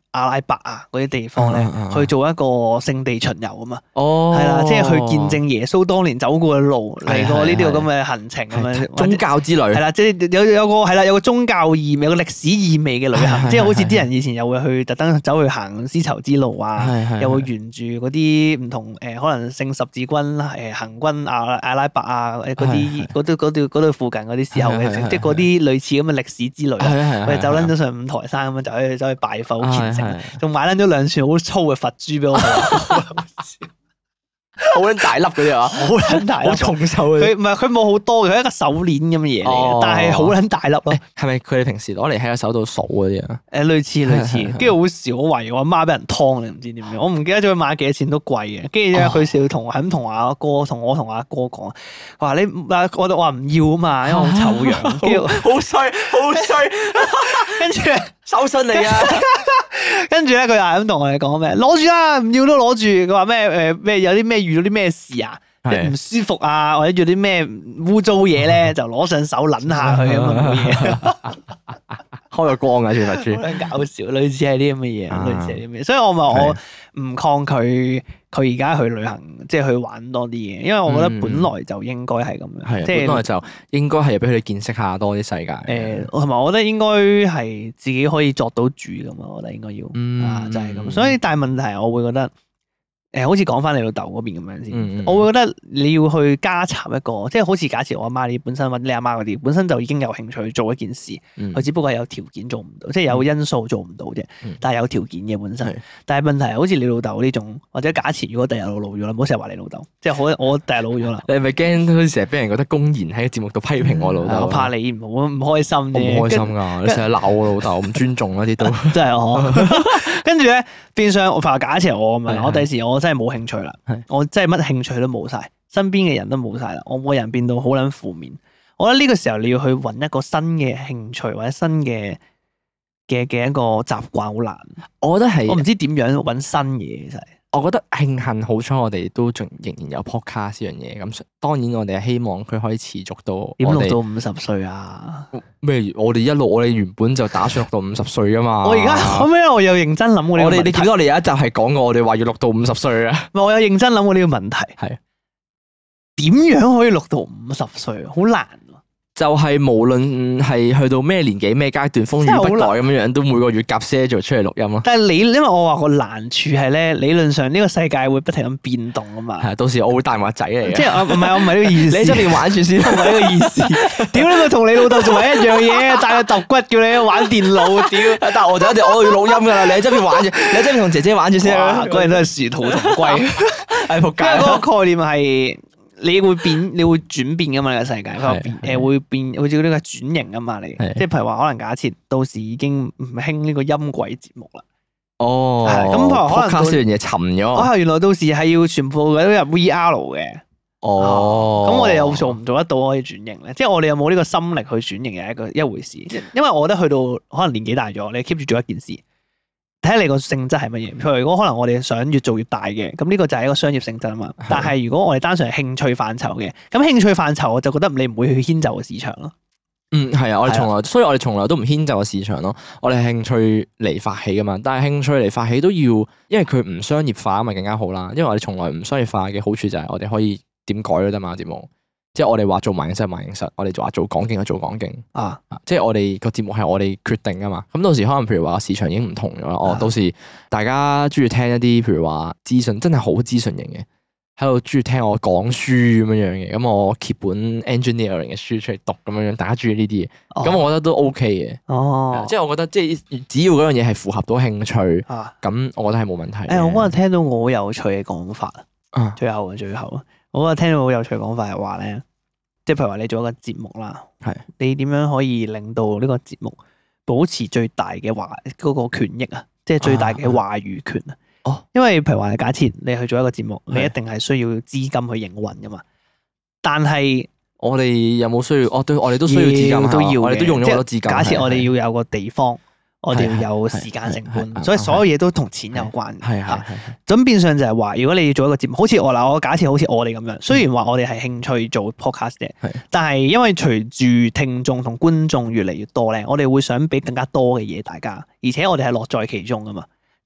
S2: 阿拉伯啊嗰啲地方咧，去做一個聖地巡遊啊嘛。
S1: 哦，
S2: 係啦，即係去見證耶穌當年走過嘅路，嚟過呢啲咁嘅行程咁樣。
S1: 宗教之旅
S2: 係啦，即係有有個係啦，有個宗教意味，有個歷史意味嘅旅行，即係好似啲人以前又會去特登走去行絲綢之路啊，又會沿住嗰啲唔同誒，可能聖十字軍誒行軍阿阿拉伯啊誒嗰啲嗰度嗰度嗰度附近嗰啲時候嘅，即係嗰啲類似咁嘅歷史之旅。我哋走撚咗上五台山咁樣，就可以走去拜佛，好虔誠，仲買撚咗兩串好粗嘅佛珠俾我哋。
S1: 好撚大粒嗰啲啊，
S2: 好撚大粒，
S1: 好重手嘅。
S2: 佢唔係佢冇好多嘅，佢係一個手鏈咁嘅嘢嚟嘅，但係好撚大粒咯。
S1: 係咪佢哋平時攞嚟喺個手度數嗰啲啊？
S2: 誒，類似類似，跟住好少懷我阿媽俾人劏，你唔知點樣。我唔記得咗佢買幾多錢，都貴嘅。跟住咧，佢成日同係咁同阿哥，同我同阿哥講，話你啊，我哋話唔要啊嘛，因為好醜樣。跟住
S1: 好衰，好衰。
S2: 跟住
S1: 收信嚟啊！
S2: 跟住咧，佢又係咁同我哋講咩？攞住啦，唔要都攞住。佢話咩？誒咩？有啲咩遇到啲咩事啊？唔舒服啊，或者做啲咩污糟嘢咧，就攞上手撚下佢咁啊，冇嘢。
S1: 開咗光啊！全佛珠，
S2: 好搞笑，類似係啲咁嘅嘢，類似係啲咩？所以我咪我唔抗拒佢而家去旅行，即係去玩多啲嘢，因為我覺得本來就應該係咁樣，即係
S1: 本來就應該係俾佢哋見識下多啲世界。
S2: 誒，同埋我覺得應該係自己可以作到主咁啊，我覺得應該要啊，就係咁。所以但係問題係，我會覺得。誒，好似講翻你老豆嗰邊咁樣先，嗯嗯我會覺得你要去加插一個，即係好似假設我阿媽你本身或者你阿媽嗰啲本身就已經有興趣做一件事，佢、嗯、只不過係有條件做唔到，即係有因素做唔到啫，嗯、但係有條件嘅本身。嗯、但係問題係好似你老豆呢種，或者假設如果第日我老咗啦，唔好成日話你老豆，即係我我第日老咗啦。
S1: 你係咪驚好似成日俾人覺得公然喺個節目度批評我老豆？
S2: 我怕你唔好唔開心啫。
S1: 唔開心㗎，跟你成日鬧我老豆，唔尊重嗰啲都
S2: 真係我。跟住咧，變相我話假設我咁樣，我第時我真係冇興趣啦。我真係乜興趣都冇晒，身邊嘅人都冇晒啦，我個人變到好撚負面。我覺得呢個時候你要去揾一個新嘅興趣或者新嘅嘅嘅一個習慣好難。我覺得係，我唔知點樣揾新嘢其實。
S1: 我覺得慶幸好彩我哋都仲仍然有 podcast 呢樣嘢，咁當然我哋係希望佢可以持續到
S2: 點錄到五十歲啊？
S1: 咩？我哋一路我哋原本就打算錄到五十歲噶嘛。
S2: 我而家後尾我又認真諗過呢個問題。
S1: 我哋你記得我哋有一集係講過我哋話要錄到五十歲啊？
S2: 我有認真諗過呢個問題，係點樣可以錄到五十歲？好難。
S1: 就係無論係去到咩年紀咩階段，風雨不改咁樣樣，都每個月夾 schedule 出嚟錄音咯。但係你因為我話個難處係咧，理論上呢個世界會不停咁變動啊嘛。係，到時我會帶埋個仔嚟嘅。即係我唔係我唔係呢個意思。你喺出邊玩住先，唔係呢個意思。屌你咪同你老豆做埋一樣嘢，帶個揼骨叫你玩電腦。屌，但係我就一定我要錄音㗎啦。你喺出邊玩住，你喺出邊同姐姐玩住先啊。嗰人都係殊途同歸。係仆街。因為嗰個概念係。你會變，你會轉變噶嘛？呢個世界，佢變誒會變，好似呢個轉型啊嘛。你即係譬如話，可能假設到時已經唔興呢個音軌節目啦。哦，咁可能卡呢樣嘢沉咗。啊，原來到時係要全部都入 V R 嘅。哦，咁我哋又做唔做得到可以轉型咧？即係我哋有冇呢個心力去轉型係一個一回事。因為我覺得去到可能年紀大咗，你 keep 住做一件事。睇下你個性質係乜嘢，譬如如果可能我哋想越做越大嘅，咁呢個就係一個商業性質啊嘛。的但係如果我哋單純係興趣範疇嘅，咁興趣範疇我就覺得你唔會去遷就個市場咯。嗯，係啊，我哋從來，的所以我哋從來都唔遷就個市場咯。我哋係興趣嚟發起噶嘛，但係興趣嚟發起都要，因為佢唔商業化咪更加好啦。因為我哋從來唔商業化嘅好處就係我哋可以點改都得嘛節目。即係我哋話做萬應室萬應室，我哋話做講經就做講經啊！即係我哋個節目係我哋決定噶嘛。咁到時可能譬如話市場已經唔同咗啦。哦，到時大家中意聽一啲譬如話資訊，真係好資訊型嘅，喺度中意聽我講書咁樣樣嘅。咁我揭本 engineering 嘅書出嚟讀咁樣樣，大家中意呢啲嘢，咁、哦、我覺得都 OK 嘅。哦，即係我覺得即係只要嗰樣嘢係符合到興趣，咁、啊、我覺得係冇問題。誒、哎，我嗰日聽到我好有趣嘅講法啊！最後啊，最後啊！我覺得聽到好有趣嘅講法係話咧，即係譬如話你做一個節目啦，係是你點樣可以令到呢個節目保持最大嘅話嗰個權益啊，即係最大嘅話語權啊。哦，因為譬如話假設你去做一個節目，你一定係需要資金去營運噶嘛。但係我哋有冇需要？哦，對，我哋都需要資金，都要，我哋都用咗好多資金。假設我哋要有個地方。我哋要有時間成本，所以所有嘢都同錢有關。係係係。咁變相就係話，如果你要做一個節目，好似我嗱，我假設好似我哋咁樣，雖然話我哋係興趣做 podcast 嘅，但係因為隨住聽眾同觀眾越嚟越多咧，我哋會想俾更加多嘅嘢大家，而且我哋係樂在其中噶嘛。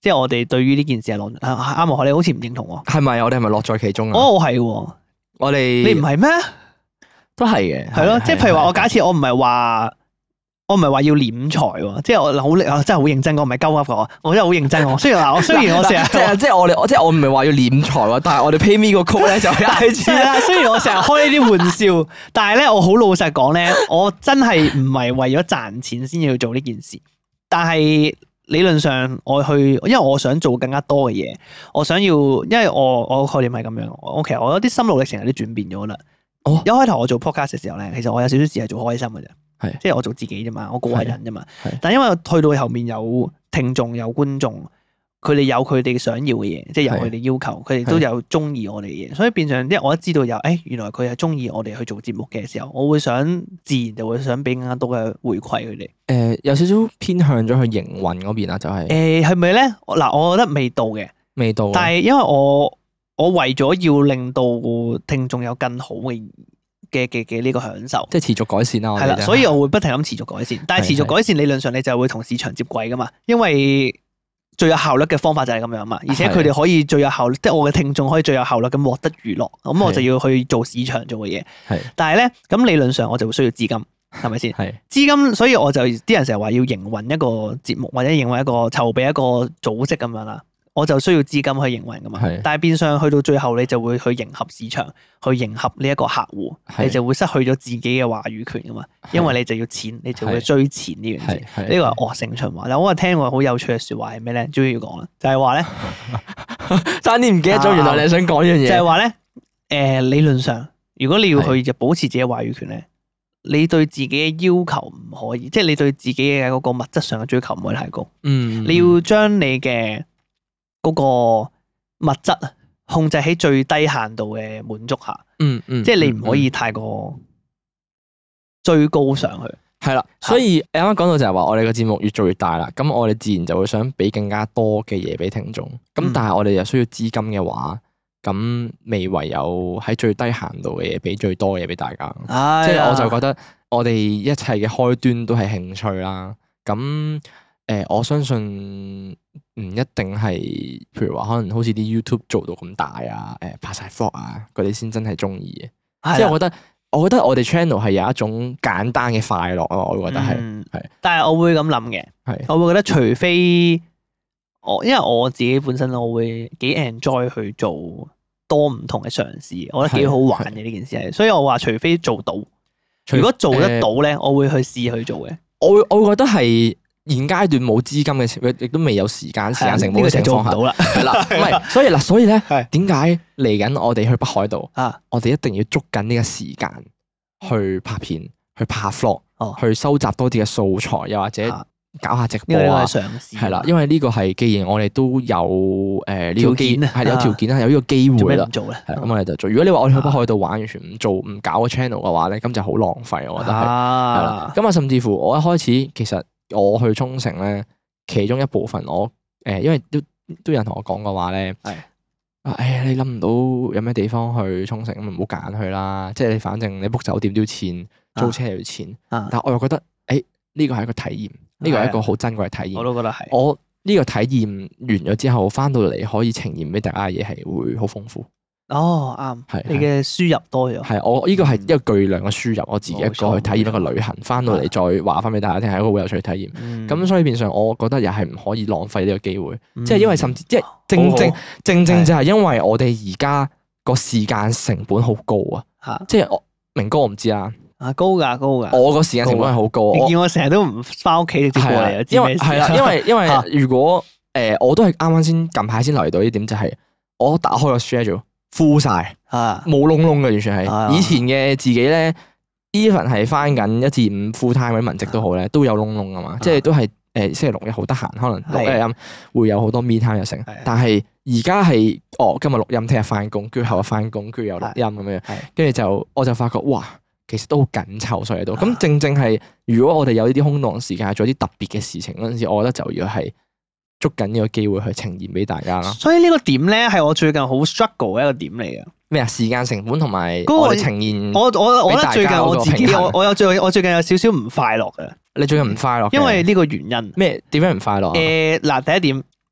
S2: 即係我哋對於呢件事係樂啱啱你好似唔認同喎。
S1: 係咪？我哋係咪樂在其中啊？
S2: 哦，係喎。
S1: 我哋
S2: 你唔係咩？
S1: 都係嘅。
S2: 係咯，即係譬如話，我假設我唔係話。我唔係話要斂財喎，即係我好真係好認真，我唔係鳩噏嘅，我真係好認真。我雖然嗱，我雖然我成日
S1: 即係即係我哋，即係我唔係話要斂財喎，但係我哋 pay me 個曲咧就係 I G
S2: 啦。雖然我成日開呢啲玩笑，但係咧我好老實講咧，我真係唔係為咗賺錢先要去做呢件事。但係理論上我去，因為我想做更加多嘅嘢，我想要，因為我我概念係咁樣。我其實我有啲心路歷程有啲轉變咗啦。哦，一開頭我做 podcast 嘅時候咧，其實我有少少事係做開心嘅啫。係，即係我做自己啫嘛，我個人啫嘛。但係因為去到後面有聽眾有觀眾，佢哋有佢哋想要嘅嘢，即係有佢哋要求，佢哋都有中意我哋嘅嘢，所以變相即係我一知道有，誒、哎、原來佢係中意我哋去做節目嘅時候，我會想自然就會想俾更加多嘅回饋佢哋。誒、
S1: 呃，有少少偏向咗去營運嗰邊啦，就係
S2: 誒係咪咧？嗱，我覺得未到嘅，
S1: 未到。
S2: 但係因為我我為咗要令到聽眾有更好嘅。嘅嘅嘅呢個享受，
S1: 即係持續改善啦。係啦，
S2: 所以我會不停咁持續改善。但係持續改善理論上你就會同市場接軌噶嘛，因為最有效率嘅方法就係咁樣嘛。而且佢哋可以最有效率，即係我嘅聽眾可以最有效率咁獲得娛樂。咁我就要去做市場做嘅嘢。係，但係咧咁理論上我就會需要資金，係咪先？係資金，所以我就啲人成日話要營運一個節目或者營運一個籌備一個組織咁樣啦。我就需要資金去營運噶嘛，但係變相去到最後，你就會去迎合市場，去迎合呢一個客戶，你就會失去咗自己嘅話語權噶嘛，因為你就要錢，你就會追錢呢樣嘢，呢個係惡性循環。嗱，我話聽過好有趣嘅説話係咩咧？終於要講啦，就係話咧，
S1: 爭啲唔記得咗，原來你想講呢樣嘢，
S2: 就係話咧，誒理論上，如果你要去就保持自己嘅話語權咧，你對自己嘅要求唔可以，即係你對自己嘅嗰個物質上嘅追求唔可以太高，嗯，你要將你嘅嗰個物質啊，控制喺最低限度嘅滿足下，嗯嗯，即係你唔可以太過追高上去。
S1: 係啦，所以你啱啱講到就係話，我哋個節目越做越大啦，咁我哋自然就會想俾更加多嘅嘢俾聽眾。咁但係我哋又需要資金嘅話，咁未唯有喺最低限度嘅嘢俾最多嘅嘢俾大家。即係我就覺得我哋一切嘅開端都係興趣啦。咁誒，我相信。唔一定係，譬如話可能好似啲 YouTube 做到咁大啊，誒拍晒 vlog 啊，嗰啲先真係中意嘅。即係我覺得，我覺得我哋 channel 係有一種簡單嘅快樂咯，我會覺得係，係、嗯。
S2: 但係我會咁諗嘅，係，我會覺得除非我，因為我自己本身我會幾 enjoy 去做多唔同嘅嘗試，我覺得幾好玩嘅呢件事係，所以我話除非做到，如果做得到咧，呃、我會去試去做嘅。我會，
S1: 我會覺得係。現階段冇資金嘅情況，亦都未有時間時間成本嘅情況下，係啦，唔係，所以嗱，所以咧，點解嚟緊我哋去北海道啊？我哋一定要捉緊呢個時間去拍片，去拍 vlog，去收集多啲嘅素材，又或者搞下直播啊，係啦，因為呢個係既然我哋都有誒呢個機係有條件啦，有呢個機會啦，咁我哋就做。如果你話我哋去北海道玩，完全唔做唔搞個 channel 嘅話咧，咁就好浪費，我覺得係係啦。咁啊，甚至乎我一開始其實。我去沖繩咧，其中一部分我誒、呃，因為都都有人同我講過話咧，係啊，哎呀，你諗唔到有咩地方去沖繩，咁唔好揀去啦。即係你反正你 book 酒店都要錢，租車又要錢。啊、但係我又覺得，誒呢個係一個體驗，呢個係一個好珍貴嘅體驗。
S2: 我都覺得係。
S1: 我呢個體驗完咗之後，翻到嚟可以呈現俾大家嘅嘢係會好豐富。
S2: 哦，啱，係你嘅輸入多咗，
S1: 係我呢個係一個巨量嘅輸入，我自己一個去體驗一個旅行，翻到嚟再話翻俾大家聽，係一個好有趣嘅體驗。咁所以變相，我覺得又係唔可以浪費呢個機會，即係因為甚至即係正正正正就係因為我哋而家個時間成本好高啊，即係我明哥我唔知啊，
S2: 啊高噶高噶，
S1: 我個時間成本係好高，
S2: 你見我成日都唔翻屋企直接過嚟啊，
S1: 因為係啦，因為因為如果誒我都係啱啱先近排先嚟到呢點，就係我打開個 schedule。full 晒，冇窿窿嘅，完全係。啊、以前嘅自己咧 ，even 係翻緊一至五 full time 嗰啲文職都好咧，都有窿窿噶嘛。啊、即係都係誒星期六日好得閒，可能錄音會有好多 me time 又成。的但係而家係哦，今日錄音，聽日翻工，跟住後日翻工，跟住又錄音咁樣。跟住就我就發覺哇，其實都好緊湊所以都。咁、啊、正正係如果我哋有呢啲空檔時間做啲特別嘅事情嗰陣時，我覺得就要係。捉緊呢個機會去呈現俾大家啦，
S2: 所以呢個點咧係我最近好 struggle 嘅一個點嚟嘅。
S1: 咩啊？時間成本同埋我哋呈現，
S2: 我我我覺得最近我自己我我有最我最近有少少唔快樂嘅。
S1: 你最近唔快樂？
S2: 因為呢個原因。
S1: 咩？點樣唔快樂？
S2: 誒嗱、呃，第一點，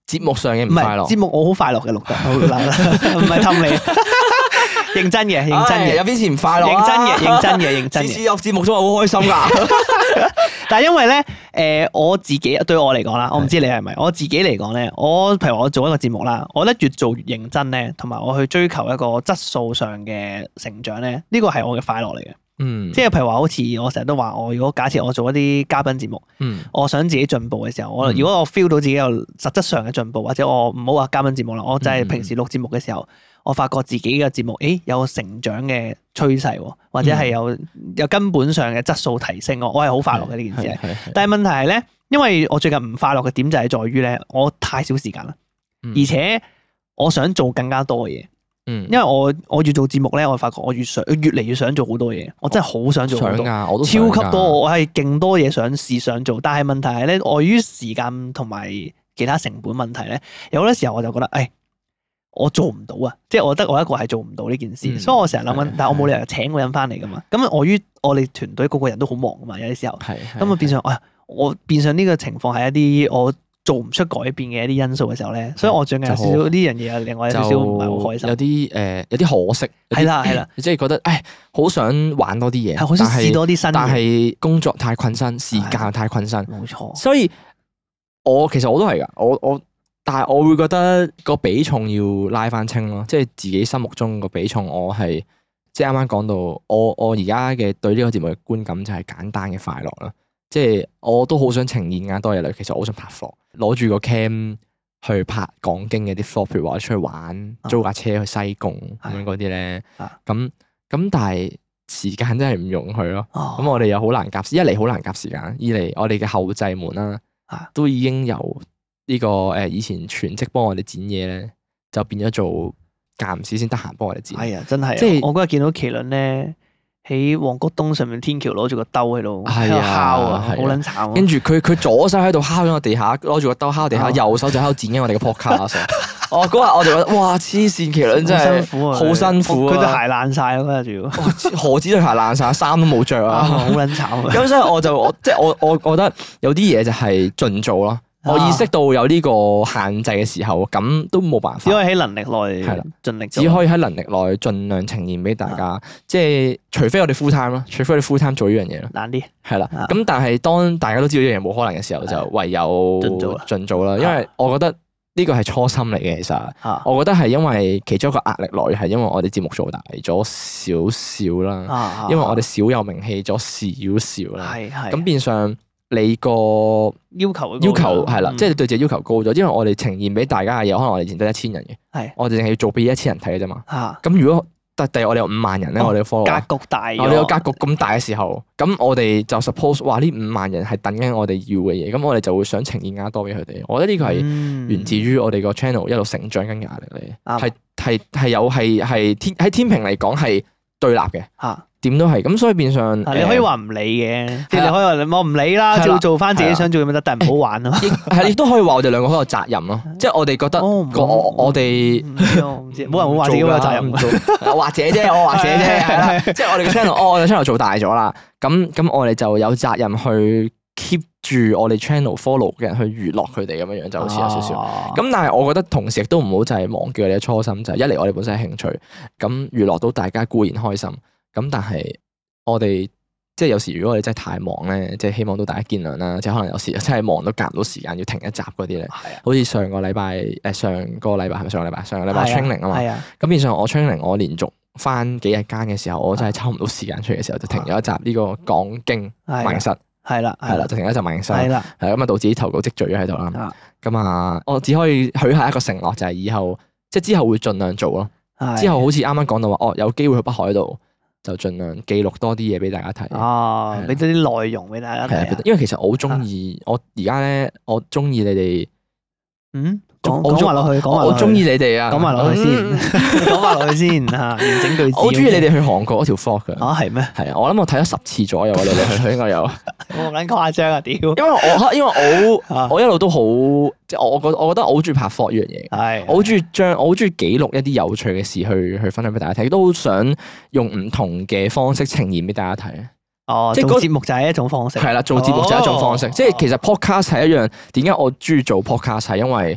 S1: 節目上嘅唔
S2: 唔
S1: 快樂。
S2: 係節目，我好快樂嘅錄得，好嗱唔係氹你，認真嘅，認真嘅，
S1: 有邊次唔快樂
S2: 認真嘅，認真嘅，認真嘅。
S1: 次次有節目都係好開心㗎。
S2: 但係因為咧，誒我自己對我嚟講啦，我唔知你係咪，我自己嚟講咧，我譬如我做一個節目啦，我覺得越做越認真咧，同埋我去追求一個質素上嘅成長咧，呢個係我嘅快樂嚟嘅。
S1: 嗯，
S2: 即係譬如話，好似我成日都話，我如果假設我做一啲嘉賓節目，
S1: 嗯，
S2: 我想自己進步嘅時候，我
S1: 嗯
S2: 如果我 feel 到自己有實質上嘅進步，或者我唔好話嘉賓節目啦，我就係平時錄節目嘅時候，我發覺自己嘅節目，誒有成長嘅趨勢喎，或者係有有根本上嘅質素提升，我我係好快樂嘅呢件事。
S1: 係係
S2: 但係問題係咧，因為我最近唔快樂嘅點就係在於咧，我太少時間啦，
S1: 嗯
S2: 而且我想做更加多嘅嘢。
S1: 嗯，
S2: 因為我我越做節目咧，我發覺我越想越嚟越想做好多嘢，我真係好想做好多，
S1: 想㗎，我都
S2: 超
S1: 想㗎
S2: 級多，我係勁多嘢想試想做，但係問題係咧，礙於時間同埋其他成本問題咧，有好多時候我就覺得，誒，我做唔到啊，即係我覺得我一個係做唔到呢件事，
S1: 嗯
S2: 所以我成日諗緊
S1: 係，
S2: 但係我冇理由請個人翻嚟噶嘛，咁礙於我哋團隊個個人都好忙噶嘛，有啲時候，
S1: 係
S2: 咁啊變相啊，我變相呢個情況係一啲我做唔出改變嘅一啲因素嘅時候咧，所以我最近有少少呢樣嘢，令我有少少唔係好開心
S1: 有。啲誒有啲可惜。有啲
S2: 係啦係啦，
S1: 即係覺得誒好想玩多啲嘢，
S2: 係好想試多啲新
S1: 但
S2: 嘢，
S1: 係工作太困身，時間太困身，
S2: 冇錯。
S1: 所以我其實我都係㗎，我我但係我會覺得個比重要拉翻清咯，即係自己心目中個比重，我係即係啱啱講到，我我而家嘅對呢個節目嘅觀感就係簡單嘅快樂啦，即係我都好想呈現更多嘢嚟，其實我好想拍 vlog，攞住個 cam 去拍講經嘅啲 vlog，譬如話出去玩，租架車去西貢咁樣嗰啲咧，咁咁但係時間真係唔容許咯，咁我哋又好難夾，一嚟好難夾時間，二嚟我哋嘅後製們啦，都已經由呢個誒以前全職幫我哋剪嘢咧，就變咗做間唔時先得閒幫我哋剪。
S2: 係啊，真係，
S1: 即係
S2: 我嗰日見到麒麟咧喺旺角東上面天橋攞住個兜喺度喺
S1: 係啊
S2: 度敲啊，好
S1: 係啊
S2: 撚慘啊！
S1: 跟住佢佢左手喺度敲咗個地下，攞住個兜敲地下，
S2: 哦
S1: 右手就喺度剪緊我哋嘅 podcast。哦，嗰日我就覺得哇，黐線麒麟真係
S2: 好辛苦啊，
S1: 好辛苦啊
S2: 佢對鞋爛晒咯，嗰日仲要，
S1: 哇何止對鞋爛晒，衫都冇着
S2: 啊
S1: 啊！
S2: 好撚慘啊！
S1: 咁所以我就我即係我我覺得有啲嘢就係盡做咯。我意識到有呢個限制嘅時候，咁都冇辦法，
S2: 只可以喺能力內
S1: 係啦
S2: 盡力做，
S1: 只可以喺能力內盡量呈現俾大家。即係除非我哋 full time 咯，除非我哋 full time 做呢樣嘢咯。
S2: 難啲。
S1: 係啦，
S2: 啊
S1: 咁但係當大家都知道呢樣嘢冇可能嘅時候，就唯有
S2: 盡做啦
S1: 盡做啦。因為我覺得呢個係初心嚟嘅，其實
S2: 啊
S1: 我覺得係因為其中一個壓力來源係因為我哋節目做大咗少少啦，
S2: 啊
S1: 因為我哋少有名氣咗少少啦，
S2: 係係
S1: 咁變相你個
S2: 要求
S1: 要求係啦，
S2: 嗯
S1: 即係你對自己要求高咗，因為我哋呈現俾大家嘅嘢，可能我哋以前得一千人嘅，
S2: 係
S1: 我哋淨係要做俾一千人睇嘅啫嘛。
S2: 啊
S1: 咁如果但第日我哋有五萬人咧，
S2: 哦
S1: 我哋嘅 follow
S2: 格局大咗，
S1: 我哋個格局咁大嘅時候，咁我哋就 suppose 話呢五萬人係等緊我哋要嘅嘢，咁我哋就會想呈現更加多俾佢哋。我覺得呢個係
S2: 係
S1: 源自於我哋個 channel 一路成長緊嘅壓力嚟，
S2: 啱
S1: 係係係有係係天喺天平嚟講係對立嘅，
S2: 嚇。
S1: 點都係咁，所以變相
S2: 啊你可以
S1: 誒
S2: 話唔理嘅，即係
S1: 係啦
S2: 你可以話我唔理啦，
S1: 係啦
S2: 照做翻自己
S1: 係啦
S2: 想做嘅咪得，但係唔好玩咯。
S1: 亦係亦都可以話我哋兩個好有責任咯，即係我哋覺得
S2: 哦
S1: 個我我哋
S2: 唔知我唔知，冇人會話自己好有責任
S1: 唔做㗎或者啫，我或者啫，係啦，即係我哋嘅 channel，哦，我哋 channel 做大咗啦，咁咁我哋就有責任去 keep 住我哋 channel follow 嘅人去娛樂佢哋咁樣樣，就好似有少少。
S2: 少
S1: 咁但係我覺得同時亦都唔好就係忘記我哋嘅初心，就係一嚟我哋本身係興趣，咁娛樂到大家固然開心，咁但係我哋即係有時如果我哋真係太忙咧，即係希望都大家見諒啦，即係可能有時真係忙到夾唔到時間要停一集嗰啲咧，
S2: 係啊，
S1: 好似上個禮拜誒上個禮拜係咪上個禮拜上個禮拜
S2: 係啊
S1: training 啊嘛，
S2: 係啊，
S1: 咁變相我 training 我連續翻幾日間嘅時候，我真係抽唔到時間出嚟嘅時候，就停咗一集呢個講經
S2: 係啊
S1: 萬應室，
S2: 係啦，
S1: 係啦，就停咗一集萬應室，
S2: 係啦，
S1: 係咁啊，導致啲投稿積聚咗喺度啦。
S2: 啊
S1: 咁啊，我只可以許下一個承諾，就係以後即係之後會盡量做咯。
S2: 係
S1: 之後好似啱啱講到話，哦，有機會去北海道，就盡量記錄多啲嘢俾大家睇。
S2: 哦
S1: 係，
S2: 俾多啲內容俾大家
S1: 係啊
S2: 睇啊，
S1: 因為其實我好中意，我而家咧，我中意你哋，
S2: 嗯，講
S1: 我
S2: 講埋落去，講埋落去
S1: 我中意你哋啊，
S2: 講埋落去先，
S1: 嗯
S2: 講埋落去先嚇，完整句子。
S1: 我好中意你哋去韓國嗰條 vlog 㗎。
S2: 啊，係咩？
S1: 係啊，我諗我睇咗十次左右啊，你哋去去應該有。
S2: 我唔撚誇張啊！屌，
S1: 因為我因為我
S2: 啊
S1: 我一路都好，即係我我覺我覺得我好中意拍 vlog 呢樣嘢。
S2: 係
S1: 我好中意將我好中意記錄一啲有趣嘅事去去分享俾大家睇，都好想用唔同嘅方式呈現俾大家睇。
S2: 哦，
S1: 即係嗰
S2: 做節目就係一種方式。
S1: 係啦，做節目就係一種方式，
S2: 哦
S1: 即係其實 podcast 係一樣。點解我中意做 podcast 係因為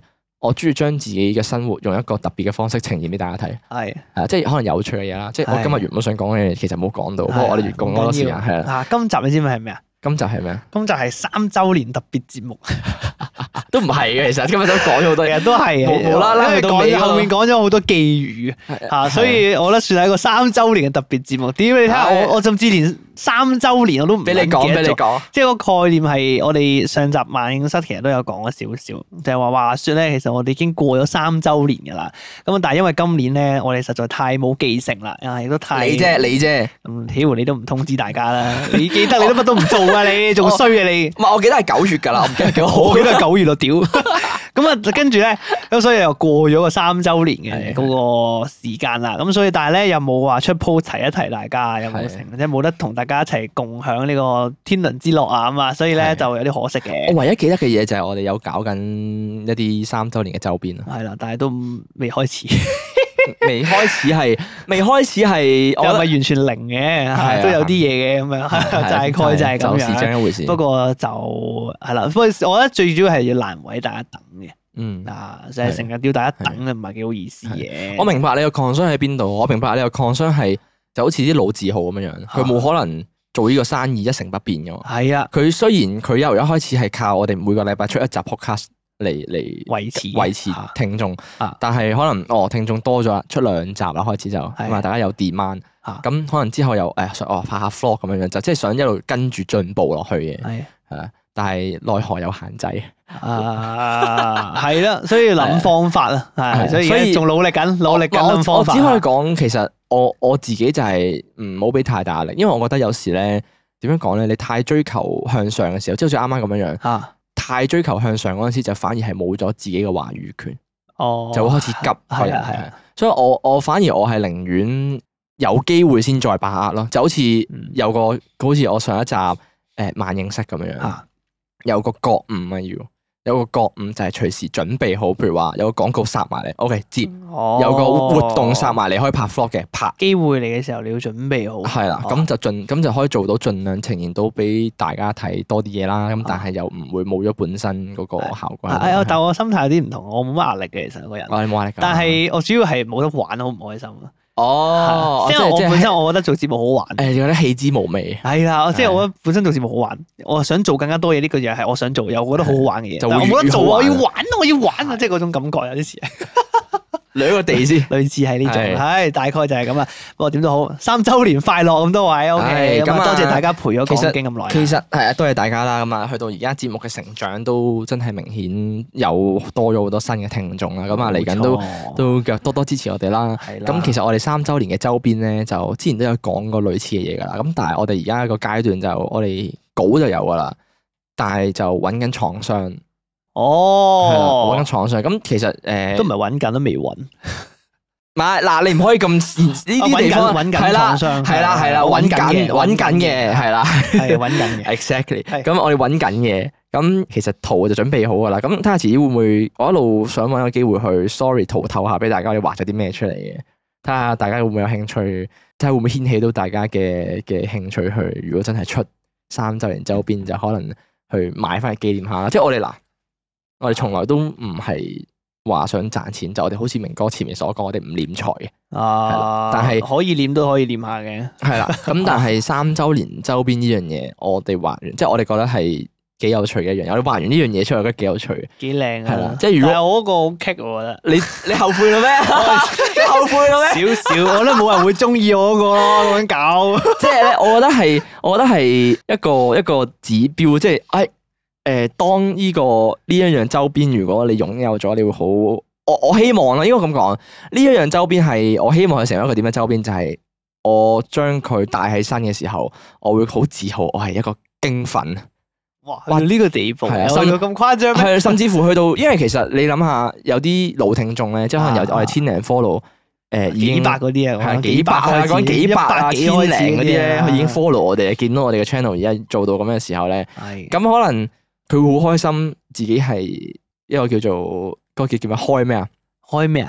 S1: 我中意將自己嘅生活用一個特別嘅方式呈現俾大家睇。
S2: 係
S1: 係啊，即係可能有趣嘅嘢啦。即係我今日原本想講嘅嘢，其實冇講到，不過我哋越講多時間係啦。
S2: 啊，今集你知唔知係咩啊？
S1: 今集係咩啊？
S2: 今集係三週年特別節目，
S1: 都唔係嘅，其實今日都講咗好多嘢，
S2: 都係
S1: 無啦啦去到尾
S2: 後面講咗好多寄語嚇，所以我覺得算係一個三週年嘅特別節目。點你睇下我我甚至連三週年我都唔
S1: 俾你講，俾你講，
S2: 即係個概念係我哋上集萬應室其實都有講咗少少，就係話話説咧，其實我哋已經過咗三週年㗎啦。咁但係因為今年咧，我哋實在太冇記性啦，啊亦都太
S1: 你啫你啫，
S2: 咁屌你都唔通知大家啦，你記得你都乜都唔做啊，你仲衰啊你！
S1: 唔係我記得係九月㗎啦，我唔記得幾好，
S2: 我記得係九月咯，屌！咁啊，跟住咧，咁所以又過咗個三週年嘅嗰個時間啦。咁所以但係咧，又冇話出 post 提一提大家，有冇成，即係冇得同大家一齊共享呢個天倫之樂啊嘛。所以咧就有啲可惜嘅。
S1: 我唯一記得嘅嘢就係我哋有搞緊一啲三週年嘅周邊啊。
S2: 係啦，但係都未開始。
S1: 未開始係，未開始係，
S2: 又唔係完全零嘅，都有啲嘢嘅咁樣，大概就係咁樣。
S1: 就一回事。不
S2: 過就係啦，不過我覺得最主要係要難為大家等嘅。嗯，啊，就係成日叫大家等，唔係幾好意思嘅。
S1: 我明白你個 concern 喺邊度，我明白你個 concern 係就好似啲老字號咁樣樣，佢冇可能做呢個生意一成不變嘅。係啊，佢雖然佢由一開始係靠我哋每個禮拜出一集 podcast。嚟嚟
S2: 維持
S1: 維持聽眾，但係可能哦聽眾多咗，出兩集啦，開始就咁啊，大家有 demand，咁可能之後又誒哦拍下 vlog 咁樣樣，就即係想一路跟住進步落去嘅，係啊，但係奈何有限制
S2: 啊，係啦，所以諗方法啦，係，所以仲努力緊，努力緊諗方法。
S1: 我只可以講，其實我我自己就係唔好俾太大壓力，因為我覺得有時咧點樣講咧，你太追求向上嘅時候，即係好似啱啱咁樣樣。太追求向上嗰陣時，就反而係冇咗自己嘅話語權，哦，就會開始急，係啊係啊，所以我我反而我係寧願有機會先再把握咯，就好似有個好似我上一集誒萬應室咁樣樣，有個覺悟啊要。有個覺悟就係隨時準備好，譬如話有個廣告殺埋嚟 ，OK 接，哦、有個活動殺埋嚟可以拍 vlog 嘅拍。機
S2: 會嚟嘅時候你要準備好。係
S1: 啦，咁、哦、就盡咁就可以做到盡量呈現到俾大家睇多啲嘢啦。咁、哦、但係又唔會冇咗本身嗰個效果。
S2: 係啊，但我心態有啲唔同，我冇乜壓力嘅，其實個人。
S1: 我係冇壓力。
S2: 但係我主要係冇得玩，好唔開心。
S1: 哦，
S2: 即係我本身我覺得做節目好玩，
S1: 誒，覺得棄之無味。係
S2: 啦，即係我覺得本身做節目好玩，我想做更加多嘢，呢個嘢係我想做，又覺得好好玩嘅嘢。但我冇得做，我要玩，我要玩啊！即係嗰種感覺有啲似。
S1: 兩個地先，
S2: 類似係呢種，係大概就係咁啦。不過點都好，三週年快樂咁多位，OK，咁啊多謝大家陪咗講經咁耐。
S1: 其實係啊，多謝大家啦。咁啊，去到而家節目嘅成長都真係明顯有多咗好多新嘅聽眾啦。咁啊，嚟緊都都腳多多支持我哋啦。咁其實我哋三週年嘅周邊咧，就之前都有講過類似嘅嘢噶啦。咁但係我哋而家個階段就我哋稿就有噶啦，但係就揾緊廠商。
S2: 哦，
S1: 揾緊廠商，咁其實誒
S2: 都唔係揾緊，都未揾。
S1: 唔係嗱，你唔可以咁呢啲地方
S2: 揾緊廠商，
S1: 係啦係啦，揾緊揾緊嘅係啦，
S2: 係揾緊嘅。
S1: Exactly。咁我哋揾緊嘅，咁其實圖就準備好噶啦。咁睇下遲啲會唔會，我一路想揾個機會去 sorry 圖透下俾大家，我哋畫咗啲咩出嚟嘅。睇下大家會唔會有興趣，睇下會唔會掀起到大家嘅嘅興趣去。如果真係出三週年周邊，就可能去買翻嚟紀念下。即係我哋嗱。我哋從來都唔係話想賺錢，就我哋好似明哥前面所講，我哋唔斂財嘅。
S2: 啊，
S1: 但係
S2: 可以斂都可以斂下嘅。係啦，
S1: 咁但係三週年周邊呢樣嘢，我哋畫完，即係我哋覺得係幾有趣嘅一樣嘢。我哋畫完呢樣嘢出嚟，覺得幾有趣，
S2: 幾靚啊！
S1: 係啦，即係如果
S2: 我嗰個好棘，我覺得。你
S1: 你後悔啦咩？你後悔啦咩？
S2: 少少，我覺得冇人會中意我嗰個咯，咁樣搞。
S1: 即係咧，我覺得係，我覺得係一個一個指標，即係誒。誒，當呢個呢一樣周邊，如果你擁有咗，你會好，我我希望啦，應該咁講，呢一樣周邊係我希望佢成為一個點嘅周邊，就係我將佢帶喺身嘅時候，我會好自豪，我係一個經粉。
S2: 哇！哇呢個地步，係啊，去到咁誇張咩？
S1: 係甚至乎去到，因為其實你諗下，有啲老聽眾咧，即係可能有我哋千零 follow，誒，
S2: 幾百嗰啲啊，
S1: 係幾百啊，講幾百啊，千零嗰啲咧，佢已經 follow 我哋，見到我哋嘅 channel 而家做到咁嘅時候咧，係咁可能。佢會好開心，自己係一個叫做嗰個叫叫咩開咩啊？
S2: 開咩啊？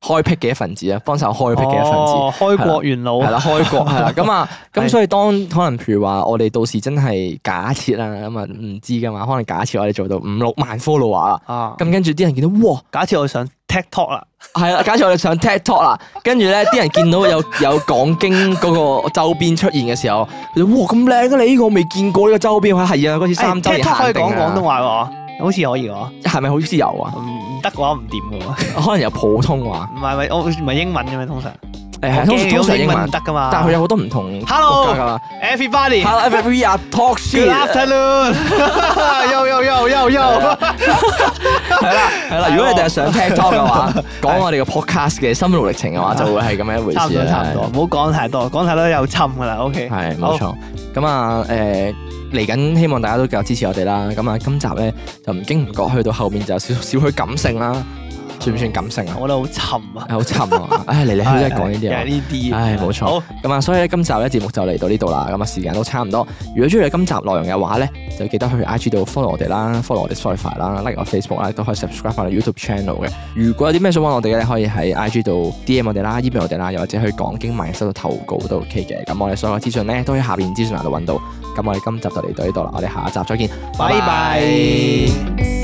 S1: 開闢嘅一份子啊，幫手開闢嘅一份子。
S2: 哦，開國元老
S1: 係啦，開國係啦，咁啊，咁所以當可能譬如話我哋到時真係假設啦，咁啊唔知噶嘛，可能假設我哋做到五六萬 follower 啦，
S2: 啊，
S1: 咁跟住啲人見到哇，
S2: 假設我上 TikTok 啦，
S1: 係啦，假設我哋上 TikTok 啦，跟住咧啲人見到有有講經嗰個周邊出現嘅時候，佢哋哇咁靚啊！你呢個我未見過呢個周邊，係啊，嗰次三周年限定啊，
S2: 可以講廣東話喎，好似可以喎，
S1: 係咪好似有啊？
S2: 唔得嘅話唔掂嘅喎，
S1: 可能有普通話，
S2: 唔係唔係我唔係英文嘅咩通常？
S1: 誒係通通常英文
S2: 唔得噶嘛，
S1: 但係佢有好多唔同國
S2: Hello
S1: 家㗎嘛。
S2: everybody，
S1: Hello everybody are talk shit。
S2: good afternoon， yo yo yo yo yo，
S1: 係啦係啦，如果你哋係上 TikTok 嘅話，講我哋嘅 podcast 嘅心路歷程嘅話，就會係咁樣一回
S2: 差唔
S1: 事啦。
S2: 多差唔多，唔好講太多，講太多又沉噶啦。OK，
S1: 係冇錯。咁啊誒嚟緊，希望大家都繼續支持我哋啦。咁啊，今集咧就唔經唔覺去到後面就有少少少許感性啦。算唔算感性啊？
S2: 我覺得好沉啊，
S1: 好沉啊！唉，嚟嚟去去都係講呢啲啊，
S2: 呢啲。
S1: 唉，冇錯。咁啊，所以咧今集咧節目就嚟到呢度啦。咁啊，時間都差唔多。如果中意今集內容嘅話咧，就記得去 I G 度 follow 我哋啦 ，follow 我哋 Spotify 啦 ，like 我 Facebook 啦，都可以 subscribe 我哋 YouTube channel 嘅。如果有啲咩想揾我哋嘅，可以喺 I G 度 D M 我哋啦 ，email 我哋啦，又或者去講經萬應室度投稿都 OK 嘅。咁我哋所有嘅資訊咧，都喺下邊資訊欄度揾到。咁我哋今集就嚟到呢度啦，我哋下一集再見，拜拜。